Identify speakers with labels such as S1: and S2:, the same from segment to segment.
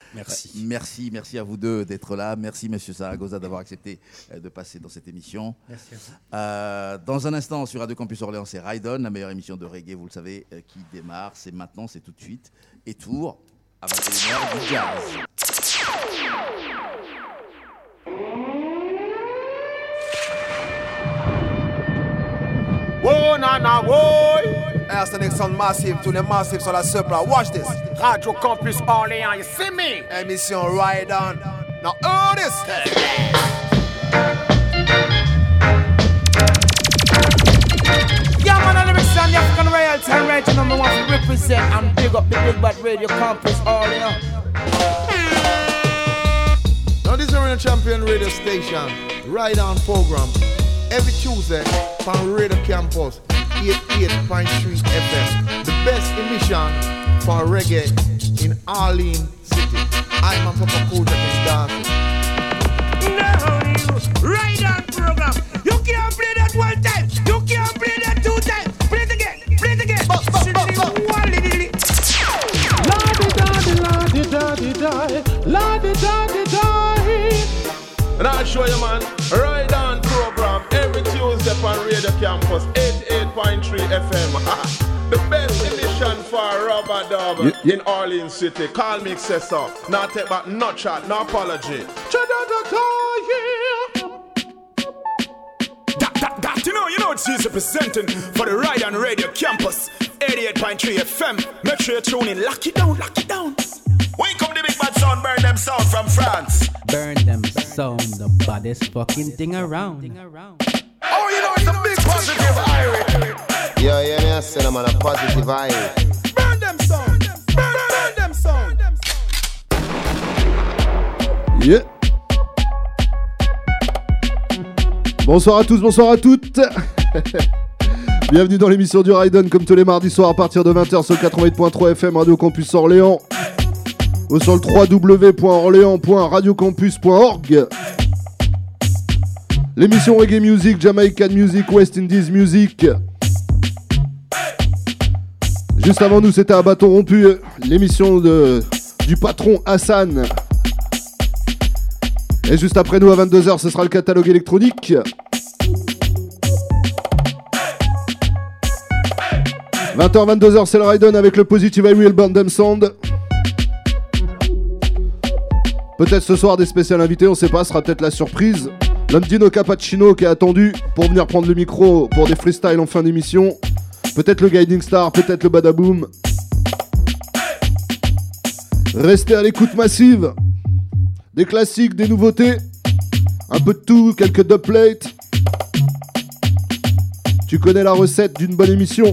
S1: Merci à vous deux d'être là. Merci, Monsieur Zaragoza, d'avoir accepté de passer dans cette émission.
S2: Merci à vous.
S1: Dans un instant, sur Radio Campus Orléans, c'est Ride On, la meilleure émission de reggae, vous le savez, qui démarre. C'est maintenant, c'est tout de suite. Et Tour, à 21h, du jazz.
S3: Whoa, nana, whoa! That's the next one, massive to the massive, so that's super. Watch this. Radio Campus Orléans, you see me? Émission Ride On. Now, hear this. Yeah, man, I'm the African royalty and right number one to represent and big up the Big Bad Radio Campus Orléans. Now, this is a champion radio station, Ride On program. Every Tuesday from Radio Campus 88.3 FM. The best emission for reggae in Orleans City. I'm a Papa Kodak and dancing. Now you Ride On program. You can't play that one time. You can't play that two times. Play it again. Play it again. And I'll show you, man. Ride On program every Tuesday on Radio Campus 88.3 FM. The best edition for Rubber Dub in Orleans City. Call me Excessor. Not take back, no chat, no apology. You know it's easy presenting for the Ride On Radio Campus 88.3 FM. Make sure you tune in. Lock it down, lock it down. Wake up the Big Bad Sound, Burn Them Sound from France.
S4: Burn Them Sound, the baddest fucking thing around.
S3: Oh, you know it's a big positive irony.
S5: Yo, yeah, me I said I'm on a positive irony.
S3: Burn Them Sound, burn Them Sound.
S6: Yeah. Bonsoir à tous, bonsoir à toutes. Bienvenue dans l'émission du Ride On, comme tous les mardis soirs à partir de 20h sur 88.3 FM Radio Campus Orléans. Ou sur le www.orléans.radiocampus.org. L'émission Reggae Music, Jamaican Music, West Indies Music. Juste avant nous, c'était à bâton rompu, l'émission du patron Hassan. Et juste après nous, à 22h, ce sera le catalogue électronique. 20h, 22h, c'est le Ride On avec le Positive I Will Burn Them Sound. Peut-être ce soir des spéciales invités, on sait pas, ce sera peut-être la surprise. L'Andino Cappuccino qui est attendu pour venir prendre le micro pour des freestyles en fin d'émission. Peut-être le Guiding Star, peut-être le Badaboom. Restez à l'écoute massive. Des classiques, des nouveautés. Un peu de tout, quelques dubplates. Tu connais la recette d'une bonne émission.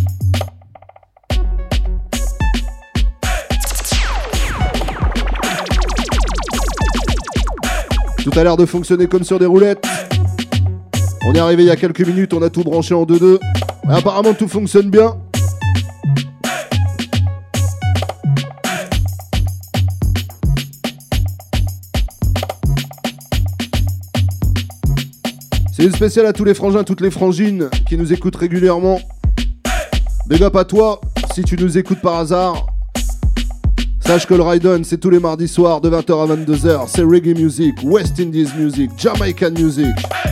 S6: Tout a l'air de fonctionner comme sur des roulettes. On est arrivé il y a quelques minutes, on a tout branché en 2-2. Mais apparemment tout fonctionne bien. C'est une spéciale à tous les frangins, toutes les frangines qui nous écoutent régulièrement. Big up à toi, si tu nous écoutes par hasard. Sache que le Ride On, c'est tous les mardis soirs de 20h à 22h. C'est reggae music, West Indies music, Jamaican music.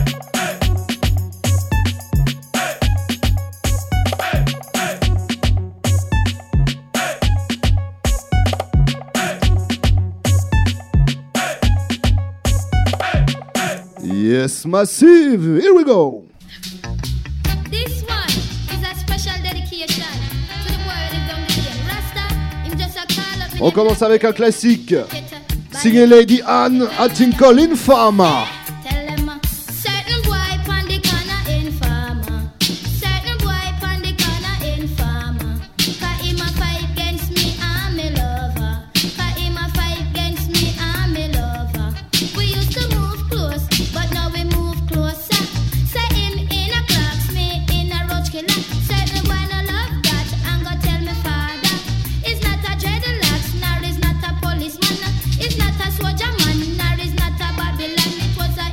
S6: Yes, massive. Here we go.
S7: This one is a special dedication to the boy that don't get Rasta. Him just a call up.
S6: On commence avec un classique. Signé Lady Anne, I think call Infama.
S7: Tell them certain boy pon the corner Infama. Certain boy pon the corner Infama. Cause him a fight against me and me lover. Cause him a fight against me and me lover. We used to move close, but now we move closer. Say him in a clocks, me in a roach killer. Certain boy no love that, and go tell me father. It's not a dreadlocks, nor is not a policeman. It's not a soldier man, nor is not a Babylon. It was a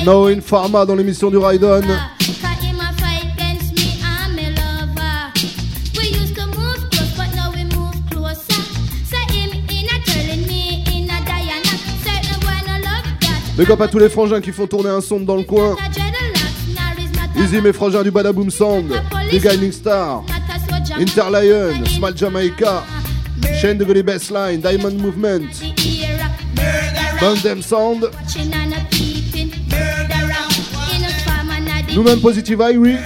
S6: No in Pharma dans l'émission du Ride-On. Big up à tous les frangins qui font tourner un son dans le coin. Easy mes frangins du Badaboom Sound, The Guiding Star, Interlion, Small Jamaica, Shane de Gully Bassline, Diamond Movement, Bandem Sound, nous-mêmes Positive Irie.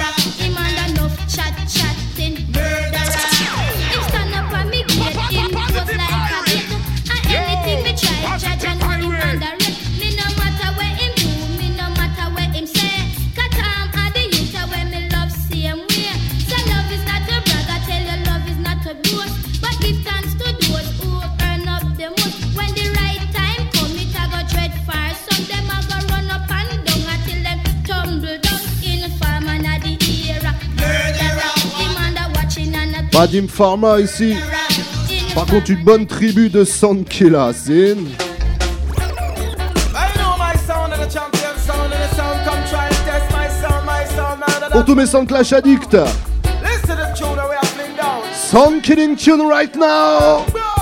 S6: Badim Pharma ici. Par contre, une bonne tribu de Soundkilla, c'est. Pour tous mes Sound Clash addicts. Sound Killing Tune right now.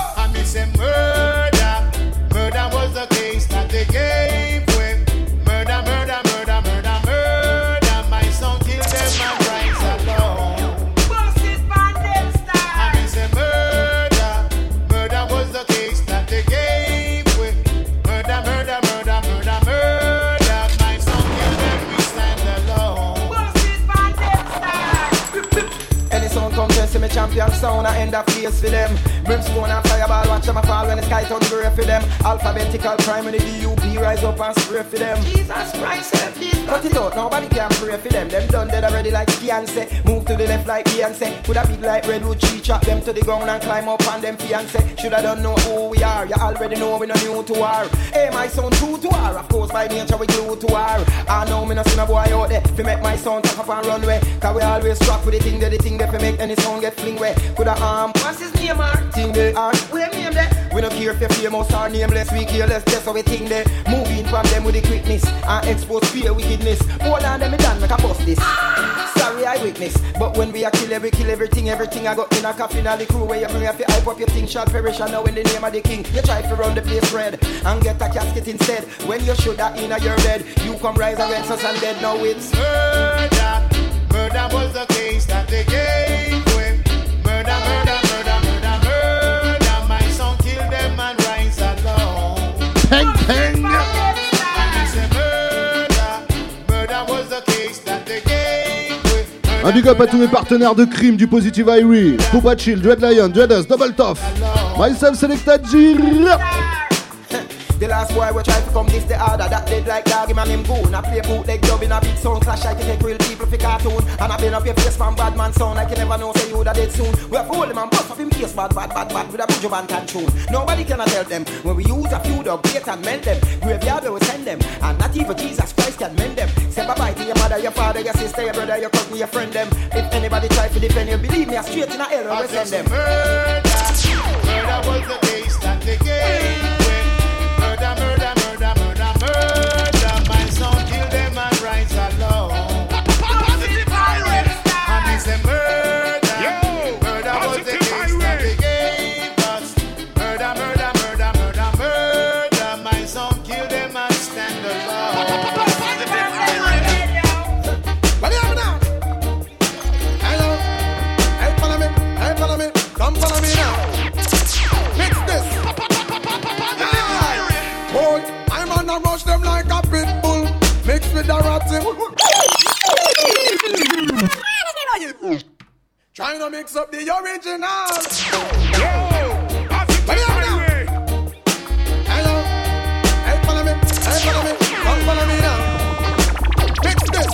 S2: Champion sound, I end up face for them. Brimstone and fireball, watch them a fall when the sky turns grey for them. Alphabetical crime when the DUP rise up and spray for them. Jesus Christ, cut it out, nobody can pray for them. Them done dead already like Beyonce. Move to the left like Beyonce. Put a big like redwood tree, chop them to the ground and climb up on them fiancé. Shoulda don't know who we are, you already know we no new to war. Hey, my sound true to war, of course by nature we glue to war. I know me no see no boy out there, fi make my sound top up and runway. Cause we always rock with the thing that fi make any sound get fling way. Could a what's his name, thing they are, we name there. We don't care if you're famous or nameless, we careless, that's how we think they. Moving from them with the quickness and expose fear wickedness. More than them, me done make a bust this. Sorry I witness, but when we a kill everything I got in a coffin and the crew where you bring up your hype up your thing shall perish. I know in the name of the king, you try to run the place red and get a casket instead. When you should have in your bed, you come rise against us and dead. Now it's murder was the case that they gave with. Murder, my son kill them and rise alone.
S6: Peng, peng.
S2: Murder was the case that they gave with.
S6: Un big up à tous mes partenaires de crime du Positive Irie, Poupa Chill, Dread Lion, Dreadus, Double Tough, myself Selecta G.
S2: The last boy we try to come this the other. That dead like dog, him and him goon. I play bootleg dub in a big sound clash. I can take real people for cartoon. And I been up your face from bad man sound. I can never know say you da dead soon. We have hold him and bust up him face bad with a bujo band can tune. Nobody cannot help them. When we use a few dog bait and mend them. Graveyard we will send them. And not even Jesus Christ can mend them. Say bye bye to your mother, your father, your sister, your brother, your cousin, your friend them. If anybody try to defend you, believe me, I straight in a hell we send them. Murder was the case that they gave. Murder, my son kill them and rise alone. Positive Irie. And it's a murder was the case that they gave us. Murder, my son kill them and stand alone. Positive Irie. What do you have now? Hello, hey follow me, come follow me now. Mix this. Boy, I'm gonna rush them like a pit bull, mixed with a ratty. Trying to mix up the original. What do you have now? Hello, hey follow me, come follow me now. Mix this.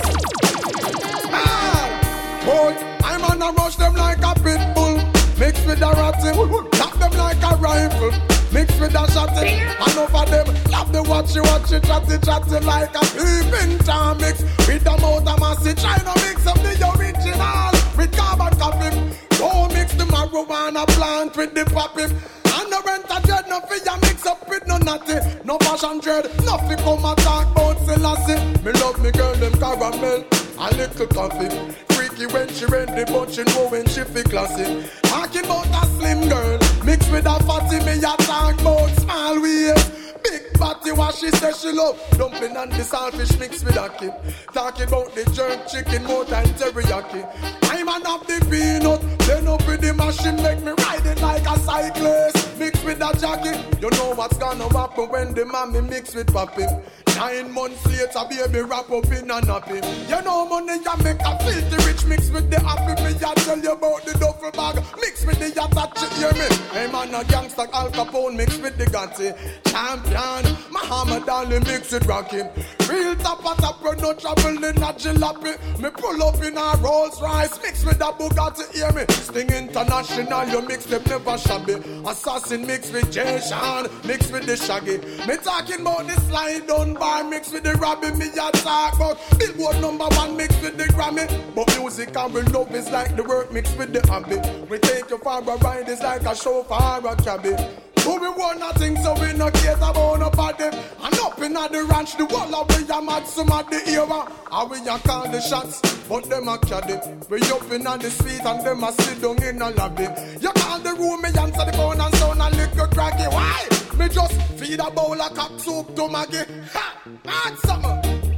S2: Boy, I'm gonna rush them like a pit bull, mixed with a ratty. Tap them like a rifle, mixed with a shotty. And over them, love the watchy, chatty like a peeping Tom mix. With the mouth of massy, trying to mix up the original with carbon copy. Don't mix the marijuana plant with the poppy. And the rent a dread, no fear mix up with no natty. No fashion dread, nothing come and talk about say
S8: Selassie. Me love me girl, them caramel, a little coffee. Freaky when she ready, but she know when she feel classy. Talking about a slim girl, mixed with a fatty, me a talk about small waist. Big body, what she says she love. Dumpling and the saltfish mixed with a kid. Talking about the jerk chicken, more than teriyaki. I'm an up the peanut, then up with the machine, make me ride it like a cyclist. Mixed with a jacket, you know what's gonna happen when the mommy mix with papi. 9 months later, baby wrap up in a nappy. You know money ya make a filthy rich mix with the happy. Me ya tell you about the duffel bag mix with the yatta, hear me. I'm on a gangster Al Capone mix with the Gatti. Champion, Muhammad Ali mix with Rocky. Real top at top, no trouble in a jalopy. Me pull up in a Rolls Royce mix with a Bugatti, hear me. Sting International, you mix them never shabby. Assassin mix with Jay Sean, mix with the Shaggy. Me talking about the slide down bar mix with the Robbie. Me a talk about Billboard #1 mix with the Grammy. But music and we love is like the work mixed with the hobby. We take you for a ride, it's like a show for a cabby. Who we want nothing, so we no care about nobody. And up in the ranch, the wall of we a mad some of the era. And we a call the shots, but them a caddy. We up in the street and them a sit down in a lobby. You call the room, me answer the phone and sound a little cracky. Why? Me just feed a bowl of cock soup to Maggie. Ha! Hot summer.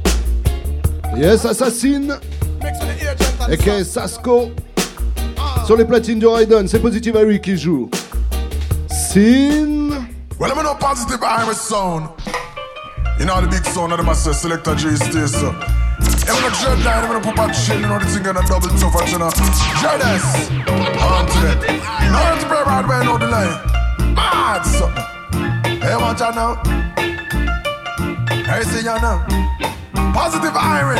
S6: Yes, Assassin.
S8: Mix with the agent and
S6: A.K.A. Sasko. Sur les platines du Raiden, c'est Positive Harry qui joue. Sin.
S9: Well, I'm no Positive Irish sound. You know the big sound of the master Selector J stays so. I'm gonna dread line, I'm gonna put back shit, you know the thing gonna double tough, you know. Dreaders. On to it. Now to pray right way, know the line. Mad something. Hey, watch out now. Hey, see ya now. Positive Irish.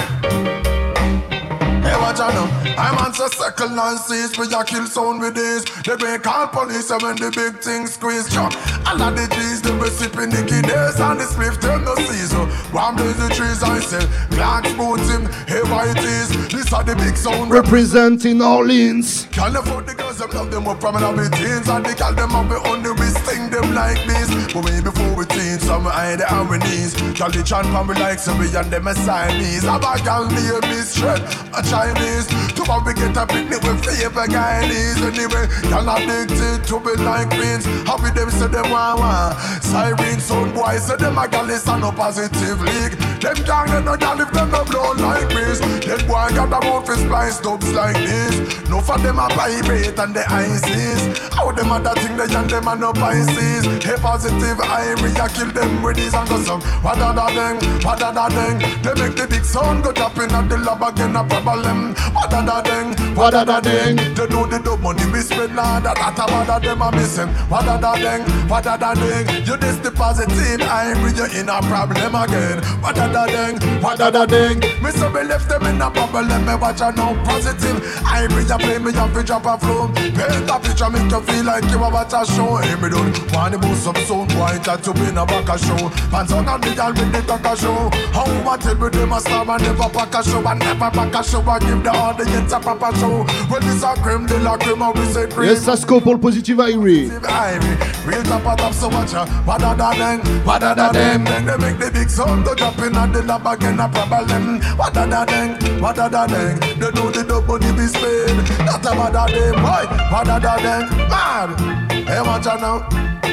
S9: Hey, watch out now. I'm on the second and seas, we a kill sound with this. They bring call police and when the big things squeeze. Chuck, all of the G's, they be sipping the kidneys and the spliff them no season. One blaze the trees, I sell Clark's boots him, hey, white is. This are the big sound.
S6: Representing Orleans.
S9: Can't afford the girls, them love them up from the teens. And they call them up on the wrist, sting them like this. But way before we teens, some hide the ironies. Call the chant from me like so we and them a Siamese. A bag and me a misread, a Chinese. To we get a picnic with favor guys. Anyway, y'all addicted to be like queens. How with them say them wah. Siren sound boys say them a gal is a no positive league. Them gang they no gal if them no blow like this. Them boy got a mouth for splice dubs like this. No for them a vibrate and the ISIS. How them a that thing they and them a no Pisces. Hey Positive Irie a kill them with these and go some. What da da deng, what da da deng. They make the big sound go dropping at the lab again a problem. What da da deng, what da da deng. They do the dope money we spend now. That what da them a missing. What da da deng, what da da deng. You this the Positive Irie, you in a problem again. What da da deng, what da da deng. Me so me left them in a problem. Me watch a no Positive Irie, you play me up to drop a flow. Paint a picture make you feel like you a watch a show. Hey me don't want to boost some sound boy that to be in a back a show. Fans on the girl with the talk a show. How much tell me them a star and never pack a show and never back a show and give the audience a proper show. When this a creme de la creme we say cream.
S6: Yes, Sasko pour le Positive Irie.
S9: Real top of top so much. What da da deng, what da da deng. Then they make the big sound to drop in at the lab again a problem. What da da deng, what da da deng. They do the dope money be spent. Not a what da deng, boy. What da da deng, mad. Hey, watch out now.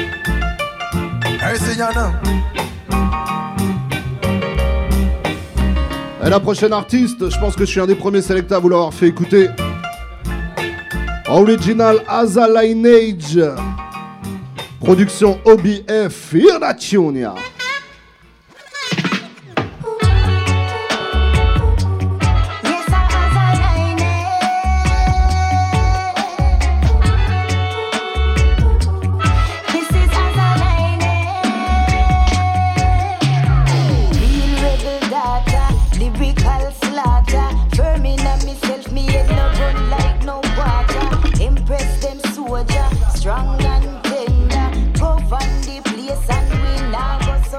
S9: Hey, see ya now.
S6: Et la prochaine artiste, je pense que je suis un des premiers sélecteurs à vous l'avoir fait écouter. Original Asa Lineage. Production OBF Irnationia.
S10: Strong and tender, go find the place and we now go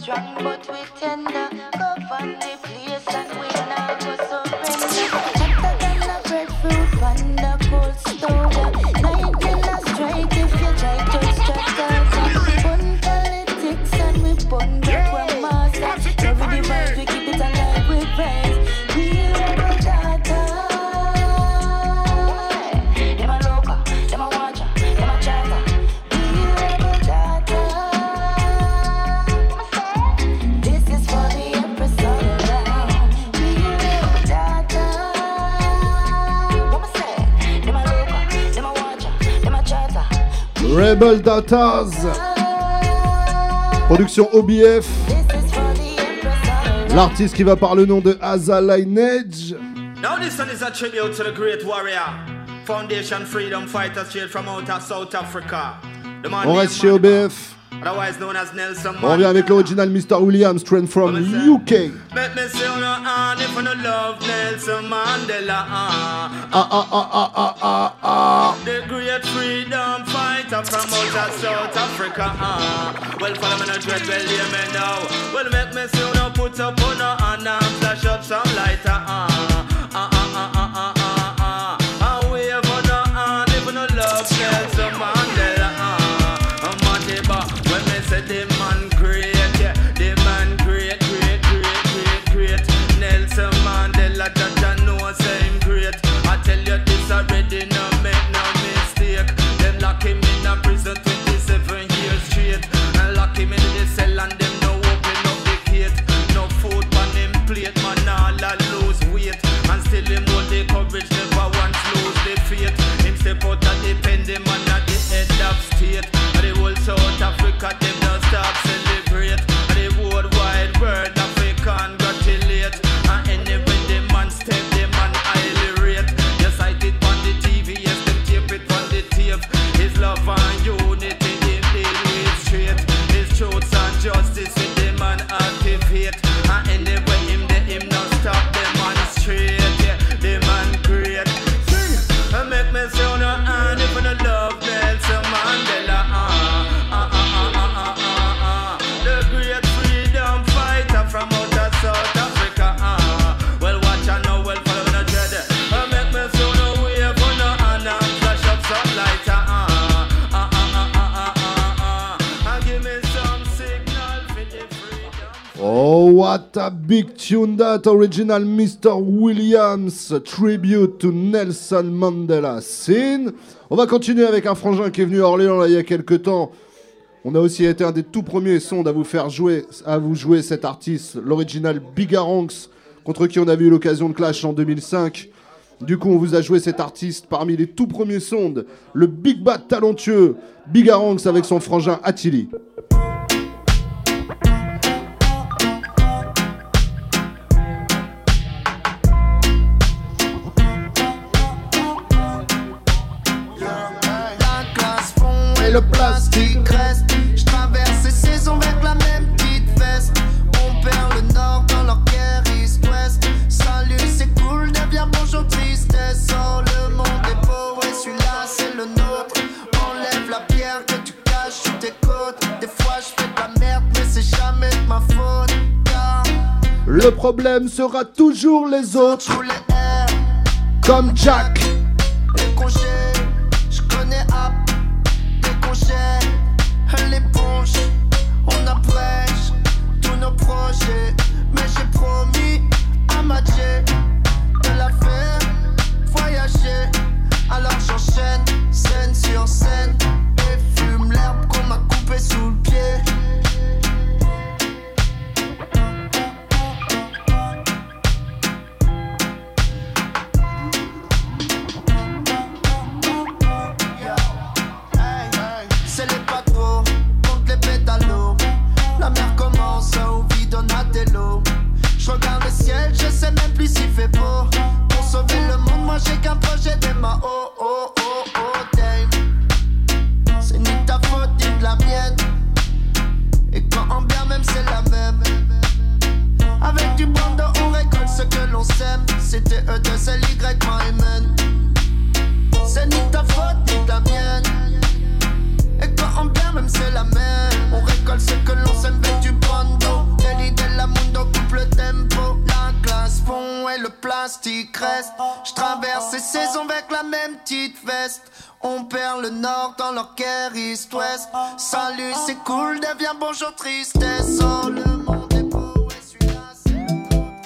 S10: strong, but we tender. Govern the place and we now go surrender. Hotter than a breadfruit on the cold stove. Lightning a strike if you try to strike us. Fun politics and we bun the grandmaster. Every device we keep it alive with praise. We rebel data. Them a loca, them a watcher, them a chatter. We rebel data. This is for the empress all around. We rebel data. What I say? Them a loca, them a watcher, them a chatter.
S6: Rebel Datas. Production OBF. L'artiste qui va par le nom de Asa Lineage.
S11: Now this one is a tribute to the great warrior, Foundation Freedom Fighter straight from out of South Africa. The man
S6: On
S11: named
S6: reste chez OBF.
S11: otherwise known as Nelson
S6: On revient avec l'original Mr. Williams, straight from UK.
S11: Let me see on your hand if you no love Nelson Mandela. The great freedom fighter from out of South Africa. Well, follow me no dread, well, hear me now. Well, make me see you no put up on your hand and flash up some lighter. Wave on your hand if you no love Nelson Mandela. Matiba, when me say the man great, yeah, the man great, great, great, great, great. Nelson Mandela, that I know say him great. I tell you this already, no make no mistake. Them lock him in a prison 27 years straight, and lock him in the cell and them no open up the gate. No food on him plate, man all a lose weight, and still him hold the courage, never once lose the faith. Him step out at the pen, the man at the head of state. And the whole South Africa, them don't stop celebrate. And the whole wide world, Africa congratulate. And anyway, the man step, the man highly rate. Yes, I did on the TV, yes, them tape it on the tape. His love and unity, him deal with straight. His truth and justice, with the man activate. And anyway, him not stop, the man straight. Yeah, the man great. And make me say on your hand if you no love Nelson Mandela. The great freedom fighter from out of South Africa. Well, watch and know, well, follow me no dread. And make me say no wave on your hand and flash up some lighter. And give me some signal for the freedom.
S6: Oh, what a big tune that original Mr. Williams, tribute to Nelson Mandela scene. On va continuer avec un frangin qui est venu à Orléans là, il y a quelques temps. On a aussi été un des tout premiers sondes à vous jouer cet artiste, l'original Bigaranx, contre qui on avait eu l'occasion de clash en 2005. Du coup, on vous a joué cet artiste parmi les tout premiers sondes, le Big Bad talentueux Bigaranx avec son frangin Attili.
S12: Le plastique reste. Je traverse ces saisons avec la même petite veste. On perd le nord dans leur guerre east-west. Salut, c'est cool, deviens bonjour, tristesse. Oh, le monde est beau, et celui-là c'est le nôtre. Enlève la pierre que tu caches sous tes côtes. Des fois je fais de la merde, mais c'est jamais de ma faute. Car
S6: le problème sera toujours les autres. Comme Jack.
S12: Les congés, je connais App. L'éponge, on abrège tous nos projets. Mais j'ai promis à Mathieu de la faire voyager. Alors j'enchaîne scène sur scène et fume l'herbe qu'on m'a coupé sous le pied. La mer commence au vide, on a des lots. Je regarde le ciel, je sais même plus s'il fait beau. Pour sauver le monde, moi j'ai qu'un projet des mains. Oh oh oh oh damn. C'est ni ta faute ni de la mienne. Et quand en bien même c'est la même. Avec du bando on récolte ce que l'on sème. C'était E2LY, my man. C'est ni ta faute ni de la mienne. Et quand on bien même c'est la même. On récolte ce que l'on sème avec du bando. plastique reste. Je traverse ces saisons avec la même petite veste. On perd le nord dans leur guerre East-Ouest. Salut, c'est cool, deviens bonjour, tristesse. Oh, le monde est beau, et celui-là, c'est le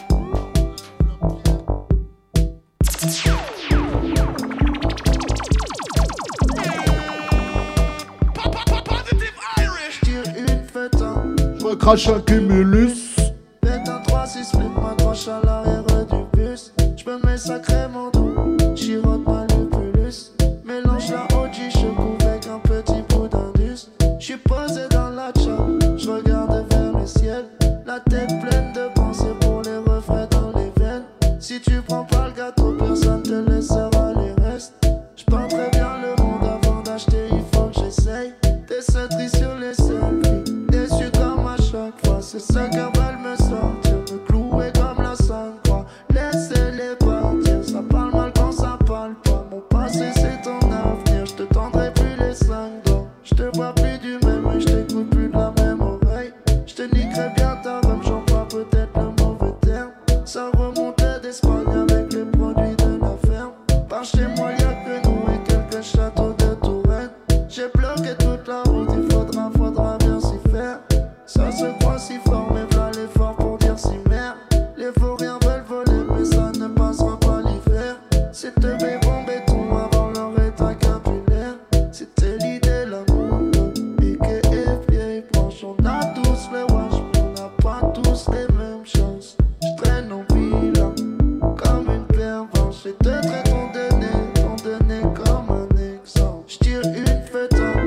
S6: Je recrache un cumulus.
S12: Faites un 3-6, mets ma croche à l'arrière du bus. J'me mets sacrément doux, chirote ma lupulus. Mélange la OG, je couvre avec un petit bout d'indus. J'suis posé dans la chambre, j'regarde vers le ciel. La tête pleine de pensées pour les refrains dans les veines. Si tu prends pas le gâteau, personne te laissera les restes. J'peins très bien le monde avant d'acheter, il faut que j'essaye. Des sauteries sur les selfies, déçu comme à chaque fois. C'est ce qu'elles veulent me sortir, me clouer comme la Sainte-Croix. Laissez-les partir, ça parle mal quand ça parle pas. Mon passé c'est ton avenir, je te tendrai plus les 5 doigts. Je te vois plus du même œil, je t'écoute plus de la même oreille. Je te niquerai bien ta rhum, j'emploie peut-être le mauvais terme. Ça remontait d'Espagne avec les produits de la ferme. Par chez moi y'a que nous et quelques châteaux de Touraine. J'ai bloqué toute la route, il faudra bien s'y faire. Ça se croit si fort, mais voilà l'effort pour dire si merde. Les vauriens veulent voler, mais ça ne passera pas l'hiver. C'est te béton béton avant leur état capillaire. C'était l'idée, l'amour, piqué et vieille branche. On a tous les wash, on n'a pas tous les mêmes chances. Je traîne en bilan, comme une pervenche. Et te traite ton donné comme un exemple. Je tire une fête en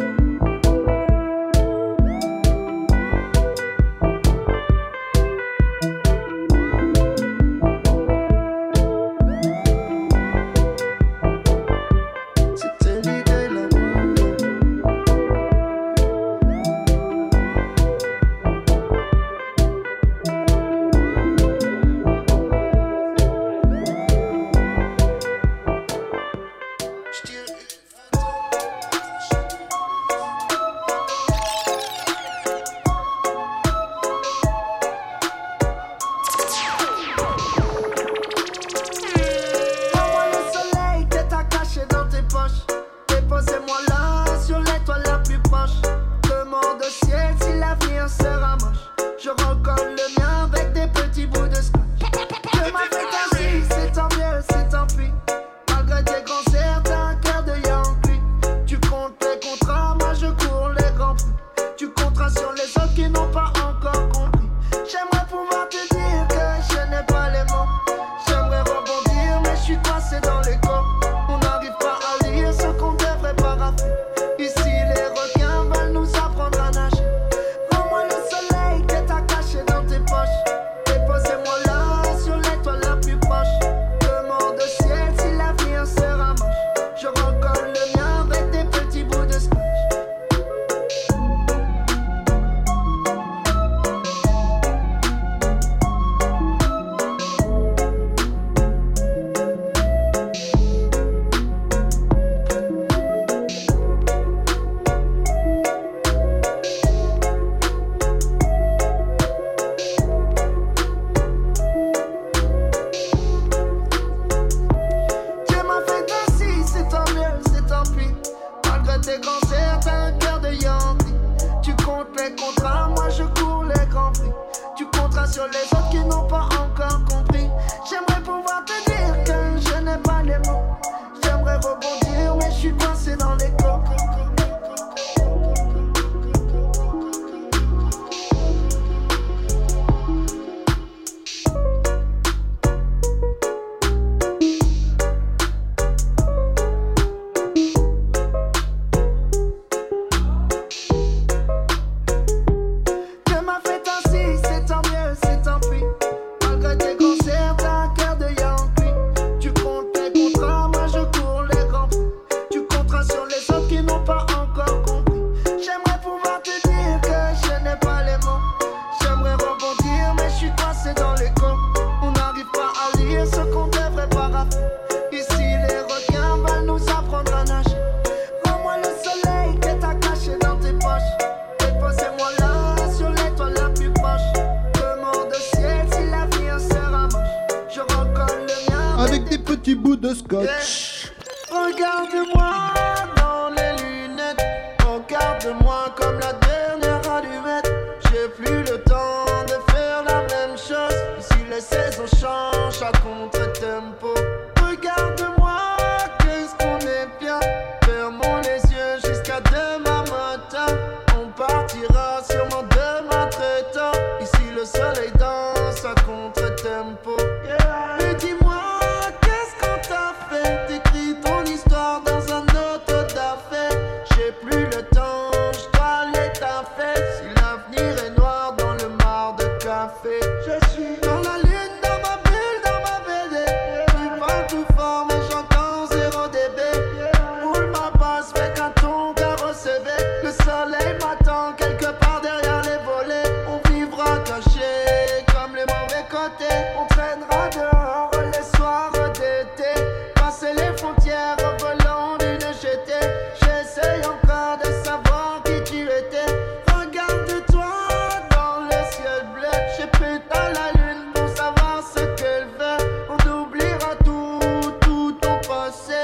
S12: déposez-moi là sur l'étoile la plus proche. Demande au ciel si l'avenir sera moche. Je recolle le mien avec des petits bouts de scotch. Que ma fête ainsi, c'est tant mieux, c'est tant pis. Malgré tes concerts, t'as un cœur de Yankee. Tu comptes les contrats, moi je cours les grands prix. Tu compteras sur les autres qui n'ont pas encore compris. J'aimerais pouvoir te dire que je n'ai pas les mots. J'aimerais rebondir, mais je suis coincé dans les corps. On n'arrive pas à lire ce qu'on devrait parapher. Ici les requins veulent nous apprendre à nager. Rends-moi le soleil que t'as caché dans tes poches. Déposez-moi là sur l'étoile la plus proche. Demande au ciel si l'avenir sera moche. Je recolle le mien avec des petits bouts de scotch. Tes concerts, t'as un cœur de Yankee. Tu comptes les contrats, moi je cours les grands prix. Tu compteras sur les autres qui n'ont pas encore compris. J'aimerais pouvoir te dire que je n'ai pas les mots. J'aimerais rebondir, mais je suis coincé dans les corps.
S6: petit bout de scotch.
S12: Regarde-moi dans les lunettes, regarde-moi comme la dernière allumette. J'ai plus le temps de faire la même chose. Ici les saisons changent à contre-tempo. Regarde-moi, qu'est-ce qu'on est bien. Fermons les yeux jusqu'à demain matin. On partira sûrement demain très tard. Ici le soleil danse à contre-tempo. Mais dis-moi, qu'est-ce qu'on t'a fait? T'écris ton histoire dans un autre d'affaires. J'ai plus le temps, je dois aller taffer. Si l'avenir est noir dans le mar de café, je suis dans la lune, dans ma bulle, dans ma BD. Tu parles tout fort mais j'entends 0 dB. Roule ma basse, fais qu'un ton carrossé. Le soleil m'attend quelque part derrière les volets. On vivra caché comme les mauvais côtés. On traînera dehors les soirs d'été. Passer les frontières au volant d'une GT. J'essaye encore de savoir qui tu étais. Regarde-toi dans le ciel bleu. J'ai pété la lune pour savoir ce qu'elle veut. On oubliera tout ton passé.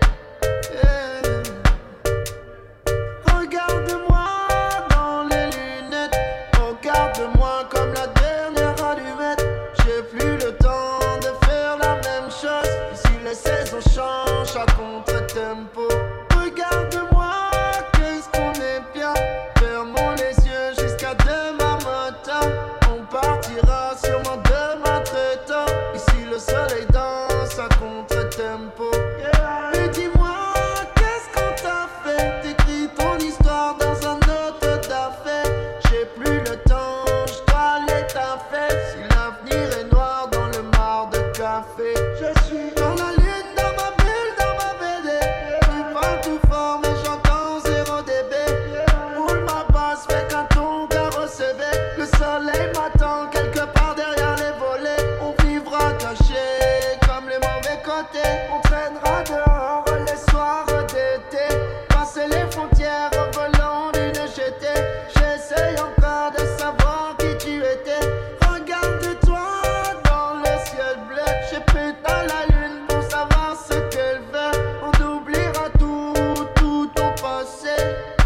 S12: Regarde-moi dans les lunettes. Regarde-moi comme la dernière allumette. J'ai plus le temps de faire la même chose. Ici les saisons changent à contre-tempo. Regarde-moi, qu'est-ce qu'on est bien. Fermons les yeux jusqu'à demain matin. On partira sûrement demain très tard. Ici le soleil danse à contre-tempo. Mais dis-moi, qu'est-ce qu'on t'a fait? T'écris ton histoire dans un autre d'affaires. J'ai plus le temps, je dois aller taffer. Si l'avenir est noir dans le mar de café, je suis dans la lune, dans ma bulle, dans ma BD. Tu parles tout fort mais j'entends 0 dB. Roule ma basse, fais qu'un ton carrossé. Le soleil m'attend quelque part derrière les volets. On vivra caché comme les mauvais côtés. On traînera dehors les soirs d'été. Passer les frontières au volant d'une GT. J'essaye encore de savoir qui tu étais. Regarde-toi dans le ciel bleu. J'ai pété la lune pour savoir ce qu'elle veut. On oubliera tout ton passé.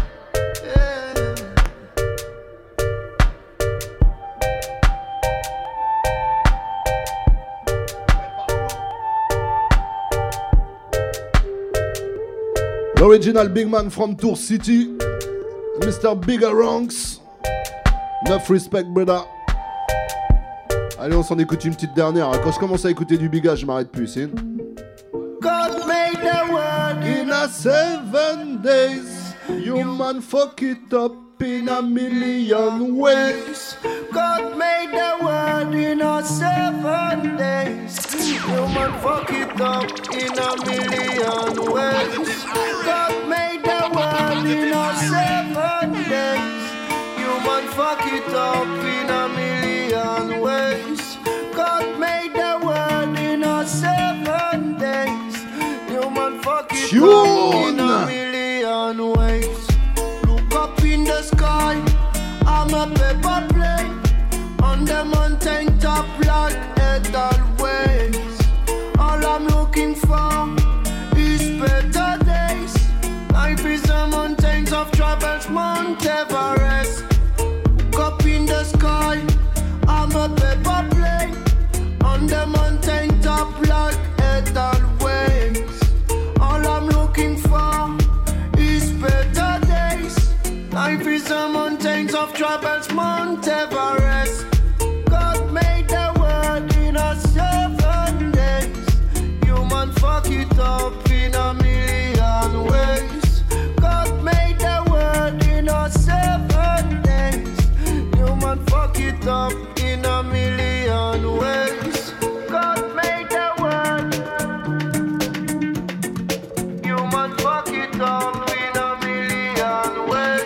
S6: L'original big man from Tour City, Mr. Bigger Ranks. Enough respect, brother. Allez, on s'en écoute une petite dernière. Quand je commence à écouter du Biga, je m'arrête plus, c'est.
S12: God made the world
S6: In a 7 days, human fuck it up in a million ways.
S12: God made the world in a 7 days. Human fuck it up in a million ways. God made the world in a 7 days. Human fuck it up in a million ways. God made the world in a 7 days. Human fuck it up in a million ways. Look up in the sky, I'm a paper plane. On the mountain top like Edelweiss. All I'm looking for is better days. Life is the mountains of troubles, Mount Everest. Look up in the sky, I'm a paper plane. On the mountain top like Edelweiss. All I'm looking for is better days. Life is the mountains of troubles, Mount Everest. God made the world in a 7 days. Human fuck it up in a million ways. God made the world in a 7 days. Human fuck it up in a million ways. God made the world. Human fuck it up in a million ways.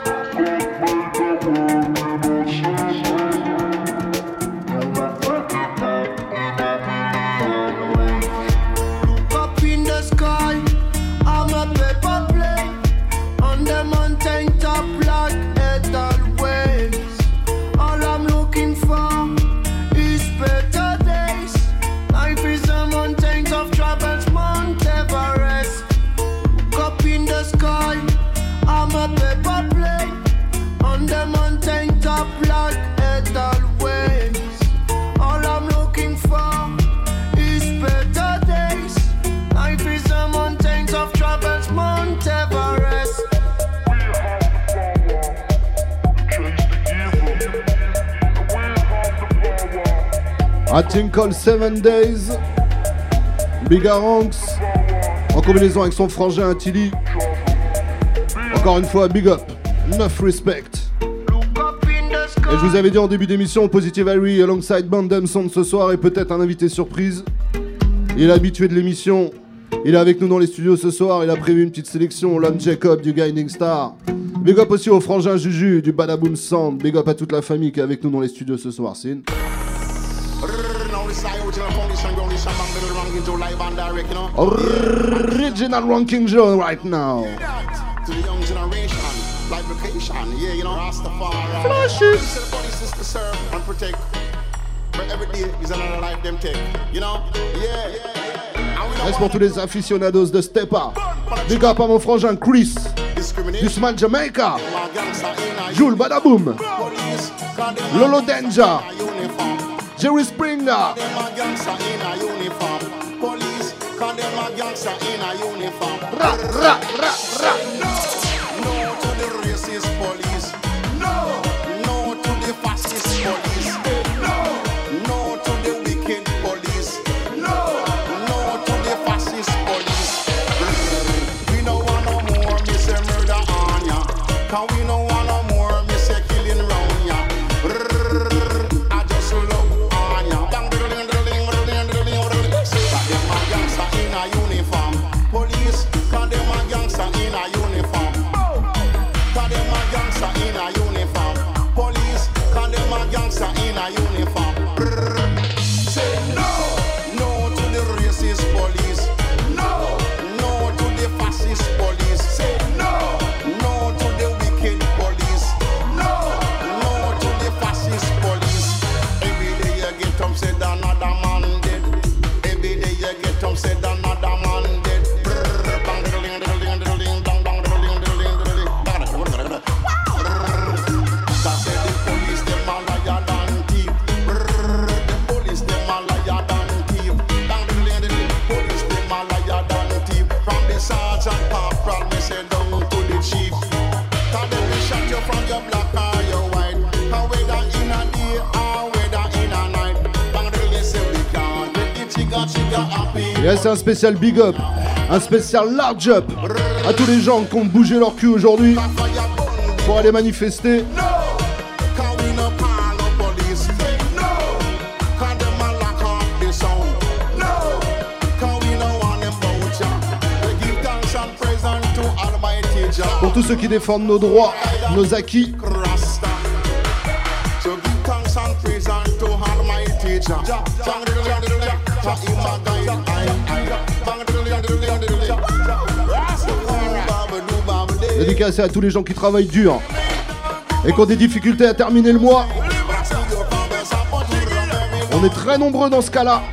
S12: Look up in the sky, I'm a paper plane. On the mountain top like Edelweiss. All I'm looking for
S6: A Thing Called 7 Days. Bigga Ranks. En combinaison avec son frangin Tilly. Encore une fois, big up. Enough respect. Et je vous avais dit en début d'émission, Positive Harry alongside Bandem Sound ce soir et peut-être un invité surprise. Il est habitué de l'émission. Il est avec nous dans les studios ce soir. Il a prévu une petite sélection. Lon Jacob du Guiding Star. Big up aussi au frangin Juju du Badaboom Sound. Big up à toute la famille qui est avec nous dans les studios ce soir. Sin. Original ranking show right now.
S13: To the young generation, like vacation, yeah, you know, Rastafari.
S6: Flashes.
S13: The body sister serve and protect. But every day is another life them take, you know, yeah.
S6: Reste pour tous les aficionados de Stepa. Big up à mon frangin Chris. Du Small Jamaica. Jules Badaboom. Lolo Danger. Jerry Springer.
S13: Condemn a gangster in a uniform.
S6: Ra, ra, ra, ra.
S13: No to the racist police. No to the fascist police. No to the wicked police. No to the fascist police. We no want no more, me say murder on ya. Cause we no want no more, me say killing round ya. I just love on ya. In a uniform, police, cause them a gangster in a uniform. Cause them a gangster in a uniform. Police, cause them a gangster in a uniform. Say no to the racist police. No to the fascist police. Say no to the wicked police. No to the fascist police. Every day you get them said another man dead. Every day you get them said another man dead. That said the police them a liar than thief. The police them a liar than thief. The police them a liar than thief. From the sergeant corporal me say down to the chief. Cause them will shot you from your black or your white. And whether in a day or whether in a night. Bang say we can't get the chigga happy.
S6: Yes, c'est un spécial big up, un spécial large up à tous les gens qui ont bougé leur cul aujourd'hui pour aller manifester. Pour tous ceux qui défendent nos droits, nos acquis. Dédicacé à tous les gens qui travaillent dur et qui ont des difficultés à terminer le mois. On est très nombreux dans ce cas-là.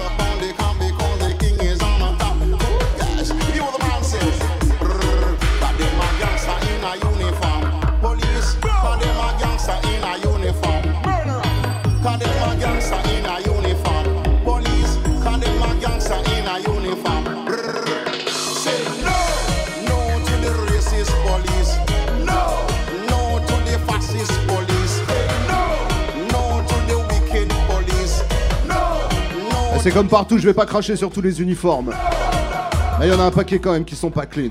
S6: C'est comme partout, je vais pas cracher sur tous les uniformes. Mais il y en a un paquet quand même qui sont pas clean.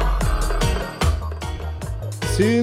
S6: Sin.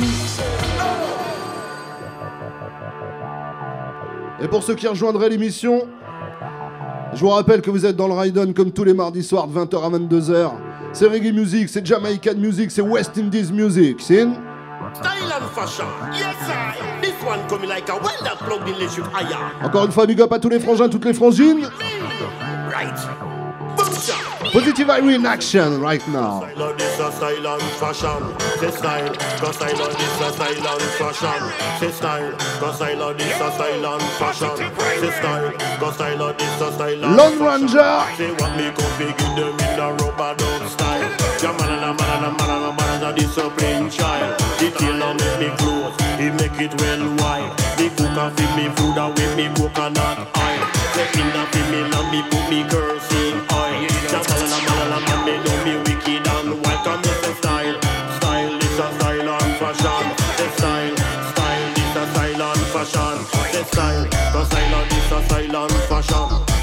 S6: Et pour ceux qui rejoindraient l'émission, je vous rappelle que vous êtes dans le Ride-On comme tous les mardis soirs de 20h à 22h. C'est reggae music, c'est Jamaican music, c'est West Indies music. Sin.
S14: Style and fashion, yes I. This one coming like a welder plugged in electric iron.
S6: Encore une fois, big up à tous les frangins, toutes les frangines.
S14: Right.
S6: Positive Harry in action right now.
S14: I love this style and fashion. Say style, cause I love this style and fashion. Say style, cause I love this style and fashion. Say style, cause I love this style and
S6: Lone Ranger.
S14: Say what me come fi give them in a rubber duck style. Jaman and a man and a disciplined child. The tailor make me clothes, he make it well wide. The cooker feed me food and with me coconut oil. The inner feed me and me put me kerosene oil. Jaman and a man me know me wicked and wild. Come here say style, style this a style and fashion. Say style, style this a style and fashion. Say style, cause I love this a style and fashion.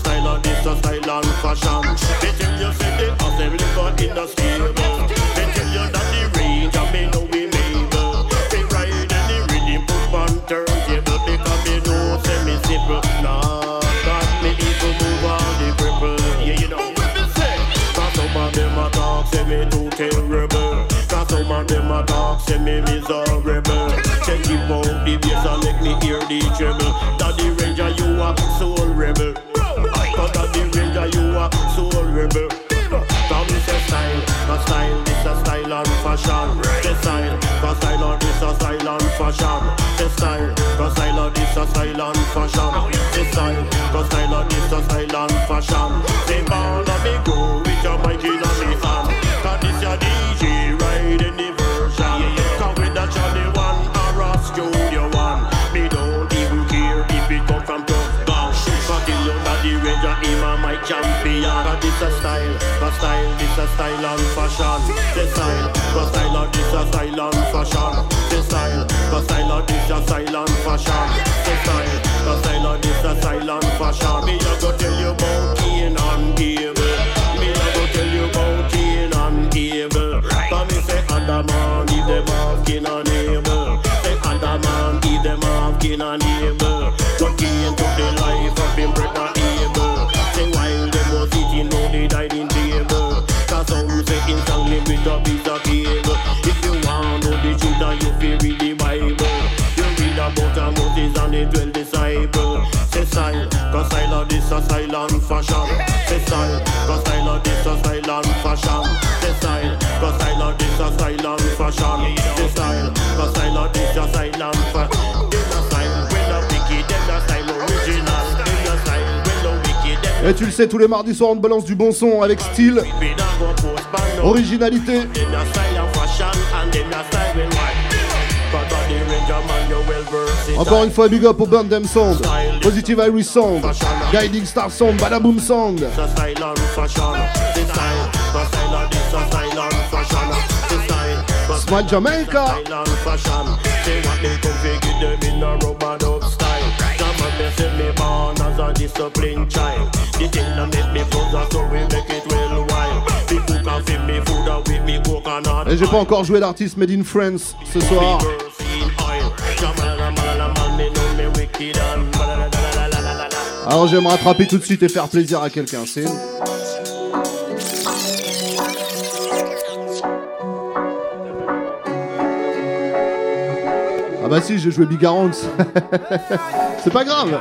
S14: style of this a style and fashion. They tell you say the assembly got in the stable. They tell you that the range and me know we mable. They ride and the rhythm put on turntable because they know say me simple. Nah, that me even move all the cripple. Yeah, you know what me say. Cause some of them a talk say me too terrible. Cause some of them a talk say me miserable. Check it out the bass and make me hear the treble. That the Ranger you a soul rebel. Cause that the Ranger you a soul rebel. Come say style, cause style this a style and fashion. The style, cause style of this a style and fashion. The style, cause style of this a style and fashion. The style, cause style of this a style and fashion. Say ball of me go with your mic in a me hand. Cause this your DJ ride in the version. Cause with that Johnny one or a studio one. Me don't even care if it come from Tough Gang. Cause till you that the Ranger him a my champion. Cause this a style, cause style this a style and fashion. The style, cause style of this a style and fashion. The style, cause style of this a style and fashion. The style, cause style of this a style and fashion. Me a go tell you about Cain and Abel. Me a go tell you about Cain and Abel. Cause me say Adam and Eve them have Cain and Abel. Say Adam and Eve them have Cain and Abel. But Cain took the life of him brother Abel. Say while them was eating, no they died in table. Cause some say instantly with a piece of cable. If you want to know the truth and you feel read the Bible, you read about Moses and the 12 disciples. Say style, cause style of this a style and fashion. Say style, cause style of this a style and fashion. Say style, cause style of this a style and fashion. Say style, cause style of this a style and fashion. Them a style, when the wicked, them a style original. Them a style, when the wicked, them.
S6: Et tu le sais, tous les mardis soirs on te balance du bon son avec style, originalité. Encore une fois, big up au Burn Them Sound, Positive Irish Sound, Guiding Star Sound, Badaboom Sound. Smile Jamaica.
S14: Disciplined child. The thing that make me focus, so we make it well wild. People can feed me food and with me coconut.
S6: Et j'ai pas encore joué l'artiste Made in France ce soir. Alors je vais me rattraper tout de suite et faire plaisir à quelqu'un, c'est... Ah bah si, j'ai joué Bigarance. C'est pas grave.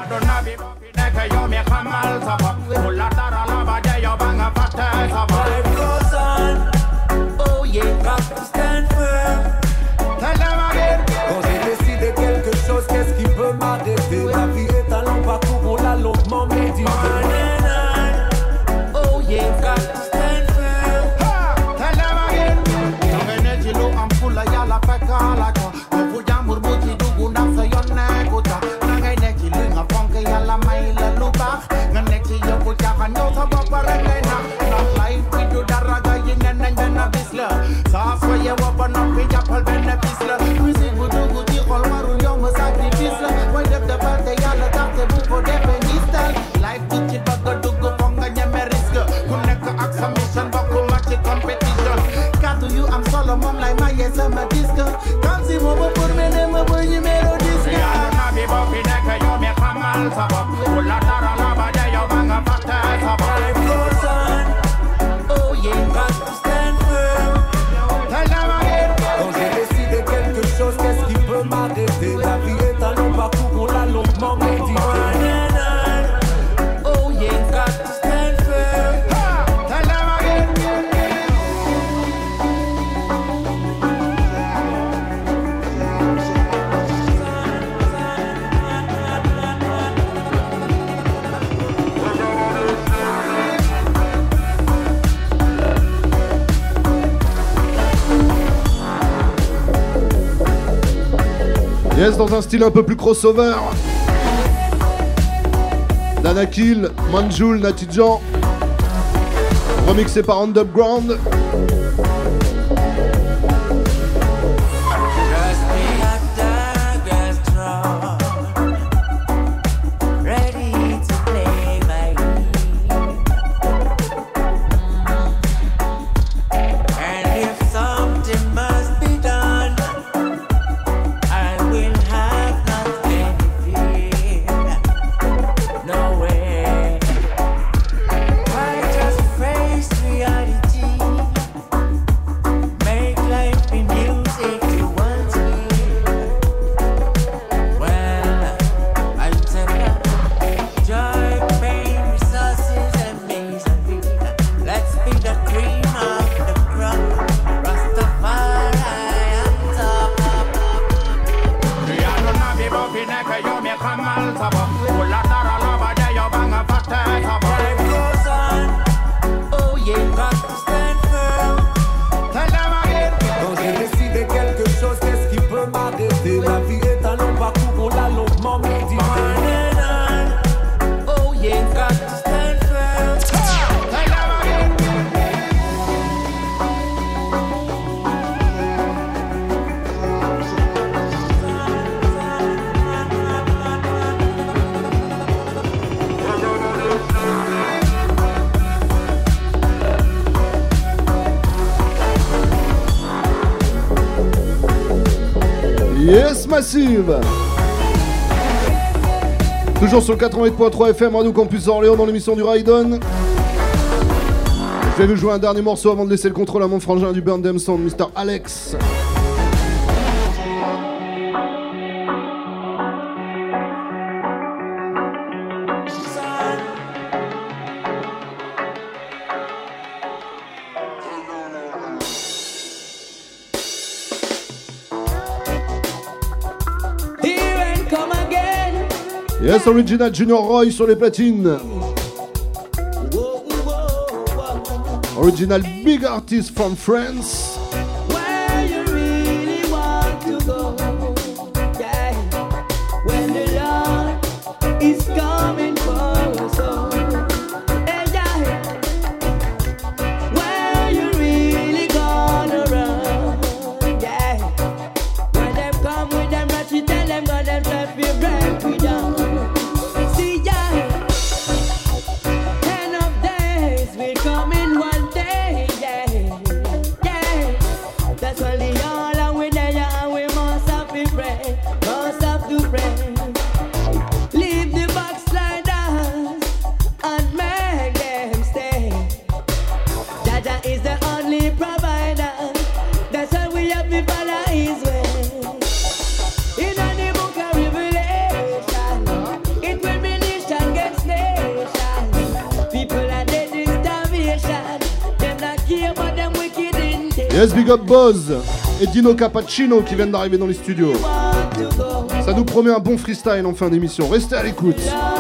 S15: Oh yeah, got to stand firm. Quand j'ai décidé quelque chose, qu'est-ce qui peut m'arrêter? La vie est un long parcours, on l'a longuement médité. Oh yeah, got to stand firm. Tell them again. Nangene jilo ampula ya la peka la ko. Kuya murmuji dugu na sayone kuta. Nangene jilo ngafonke ya la maila luba. Nangene jilo kuya kanyo sa baparengena. Not life we do daraga yinen and then a bisla. Sa soye wabana pija pal bene bisla. Music dugu di kol waru yong sacrifice. Why def the parte ya la tate buko de penistal. Life teach it baga dugu fonga nyame risk. Kuneka aksa mission baku match competition. Got to you I'm solo mom like my yes I'm a disco. Can't see mo por mene mo boy you mero disco. Ya na bi bo pineka yo me kamal sabab. Ula tara la ba de yo banga pata sabab. Life goes on. Oh yeah, got to stand firm. Tell them again. Quand j'ai décidé quelque chose, qu'est-ce qui peut m'arrêter? La vie est un long parcours, on l'a longuement médité. Oh yeah, got to stand firm. Tell them again.
S6: Yes, dans un style un peu plus crossover. Danakil, Manjoul, Natijan. Remixé par Underground.
S15: Ready to play my fi neke yo me kamal sabo. Ula tara lava de yo banga fate sabo. Life goes on. Oh yeah, got to stand firm. Tell them again.
S8: Quand j'ai décidé quelque chose, qu'est-ce qui peut m'arrêter? La vie est un long parcours, on l'a longuement médité.
S15: Oh yeah, got to stand firm. Tell them again.
S6: Yes Massive. Toujours sur 88.3 FM Radio Campus Orléans dans l'émission du Raidon. Je vais vous jouer un dernier morceau avant de laisser le contrôle à mon frangin du Burn Them Sound, Mr. Alex. Yes, Original Junior Roy sur les platines. Original Big Artist from France.
S16: Where you really want to go, yeah. When the Lord is coming for us all, yeah. Where you really gonna run, yeah. When them come with them ratchet, tell them God them try to break we down.
S6: Yes, big up Boz et Dino Cappuccino qui viennent d'arriver dans les studios. Ça nous promet un bon freestyle en fin d'émission. Restez à l'écoute.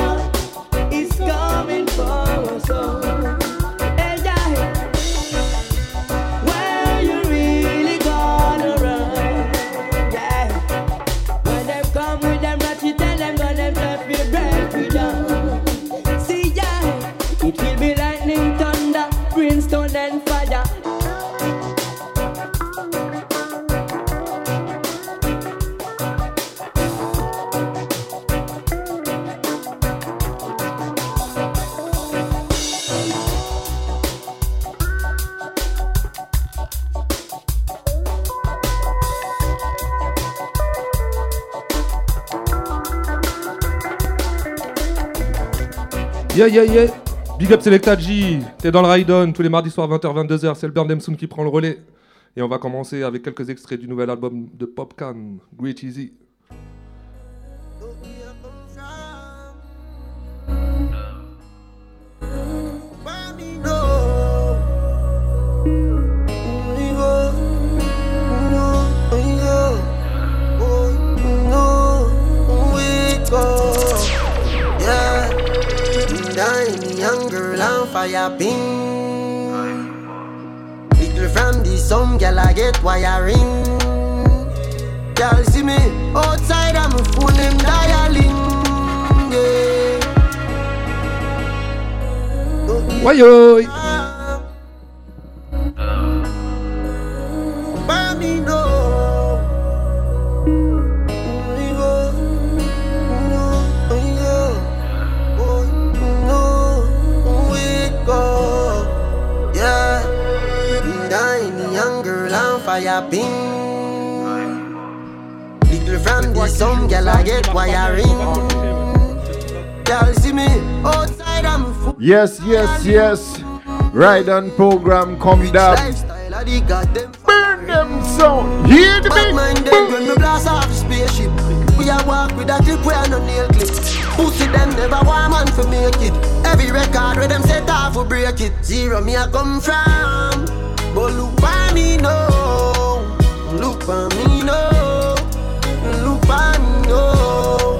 S17: Yeah. Big up Selecta G, t'es dans le Raidon tous les mardis soirs 20h 22h, c'est le Burn Them Sound qui prend le relais. Et on va commencer avec quelques extraits du nouvel album de Popcan, Great Easy.
S12: Young girl on fire ping. Little from the some girl I get wiring. Girl see me outside I'm a phone them dialing. Yeah.
S17: Why
S12: Fire ping. Little from the some girl I get wiring. Girl see me outside I'm a fool.
S3: Yes. Ride on program come down. Burn them sound. Hear the beat.
S12: When me blast off the spaceship, we a walk with a clip where no nail clip. Pussy them never want man for make it. Every record where them set off will break it. Zero me a come from. But look for me now, look for me now, look for me now.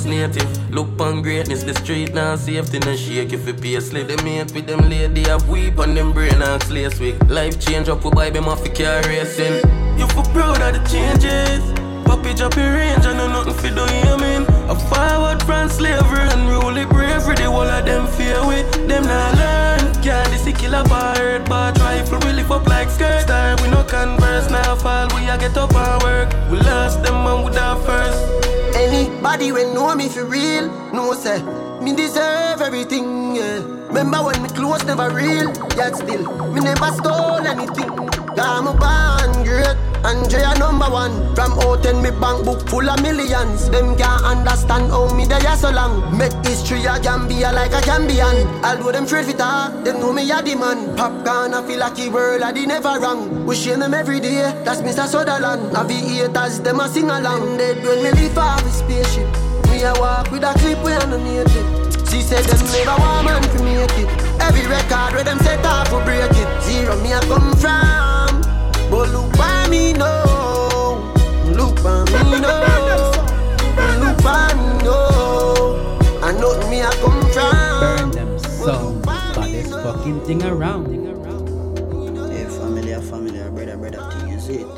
S18: native. Look on greatness, the street now safety no shake if you pay a slip. Them mate with them lady have weep on them brain and slaves week. Life change up for buy them off the car racing. You for proud of the changes. Poppy drop your range, I know nothing for do you mean. A forward from slavery and rule it bravery. The whole of them fear with them not learn. Can't this kill a bird, but rifle we lift up like skirt. Star we no converse, now fall we a get up and work. We lost them and we die first.
S12: Anybody when know me for real, no say me deserve everything, yeah. Remember when me close never real, yet still me never stole anything. I'm a band great, Andrea #1. From out me bank book full of millions. Them can't understand how me there so long. Make history a Gambia like a Gambian. Although them afraid for talk, them know me a the man. Popcorn I feel like a world I did never wrong. We share them every day, that's Mr. Sutherland. Aviators, them a sing along. Dead when me leave off the spaceship. Me a walk with a clip we underneath it. She said them never want man to make it. Every record where them set off will break it. Zero me a come from. But look by me now. Look by me now. Look by me now. I know me I come from.
S4: Burn them sound, baddest fucking thing around.
S19: Hey, family, brother, thing is it.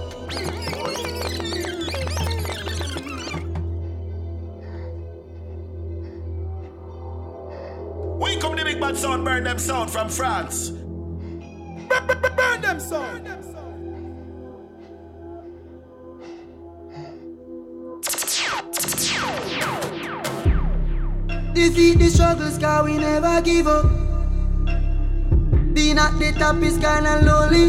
S13: We come the big bad sound, burn them sound from France. Burn them sound.
S12: Defeat the struggles, cause we never give up. Being at the top is kinda lonely.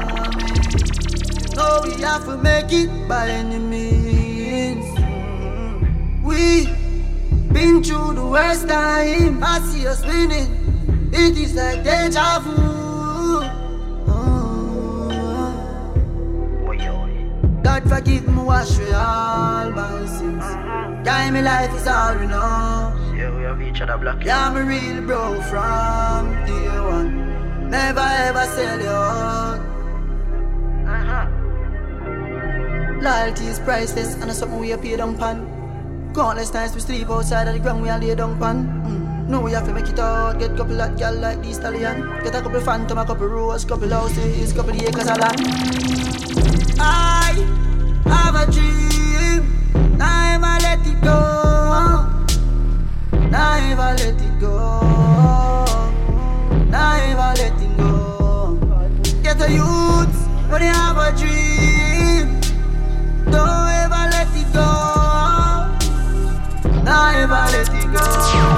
S12: No, we have to make it by any means. We been through the worst time. I see us winning. It is like deja vu. God forgive me, wash away all my sins. Guide me life is all we know.
S19: Yeah, we have each other black.
S12: Yeah, I'm a real bro from day one. Never ever sell you out. Loyalty is priceless and it's something we pay down pan. Countless times we sleep outside of the ground we are lay down pan. No, we have to make it out. Get couple of gal like the stallion. Get a couple phantom, a couple rose, couple houses, couple acres of land. I have a dream. Never let it go. Never let it go. Never let it go. Get a youth when you have a dream. Don't ever let it go. Never let it go.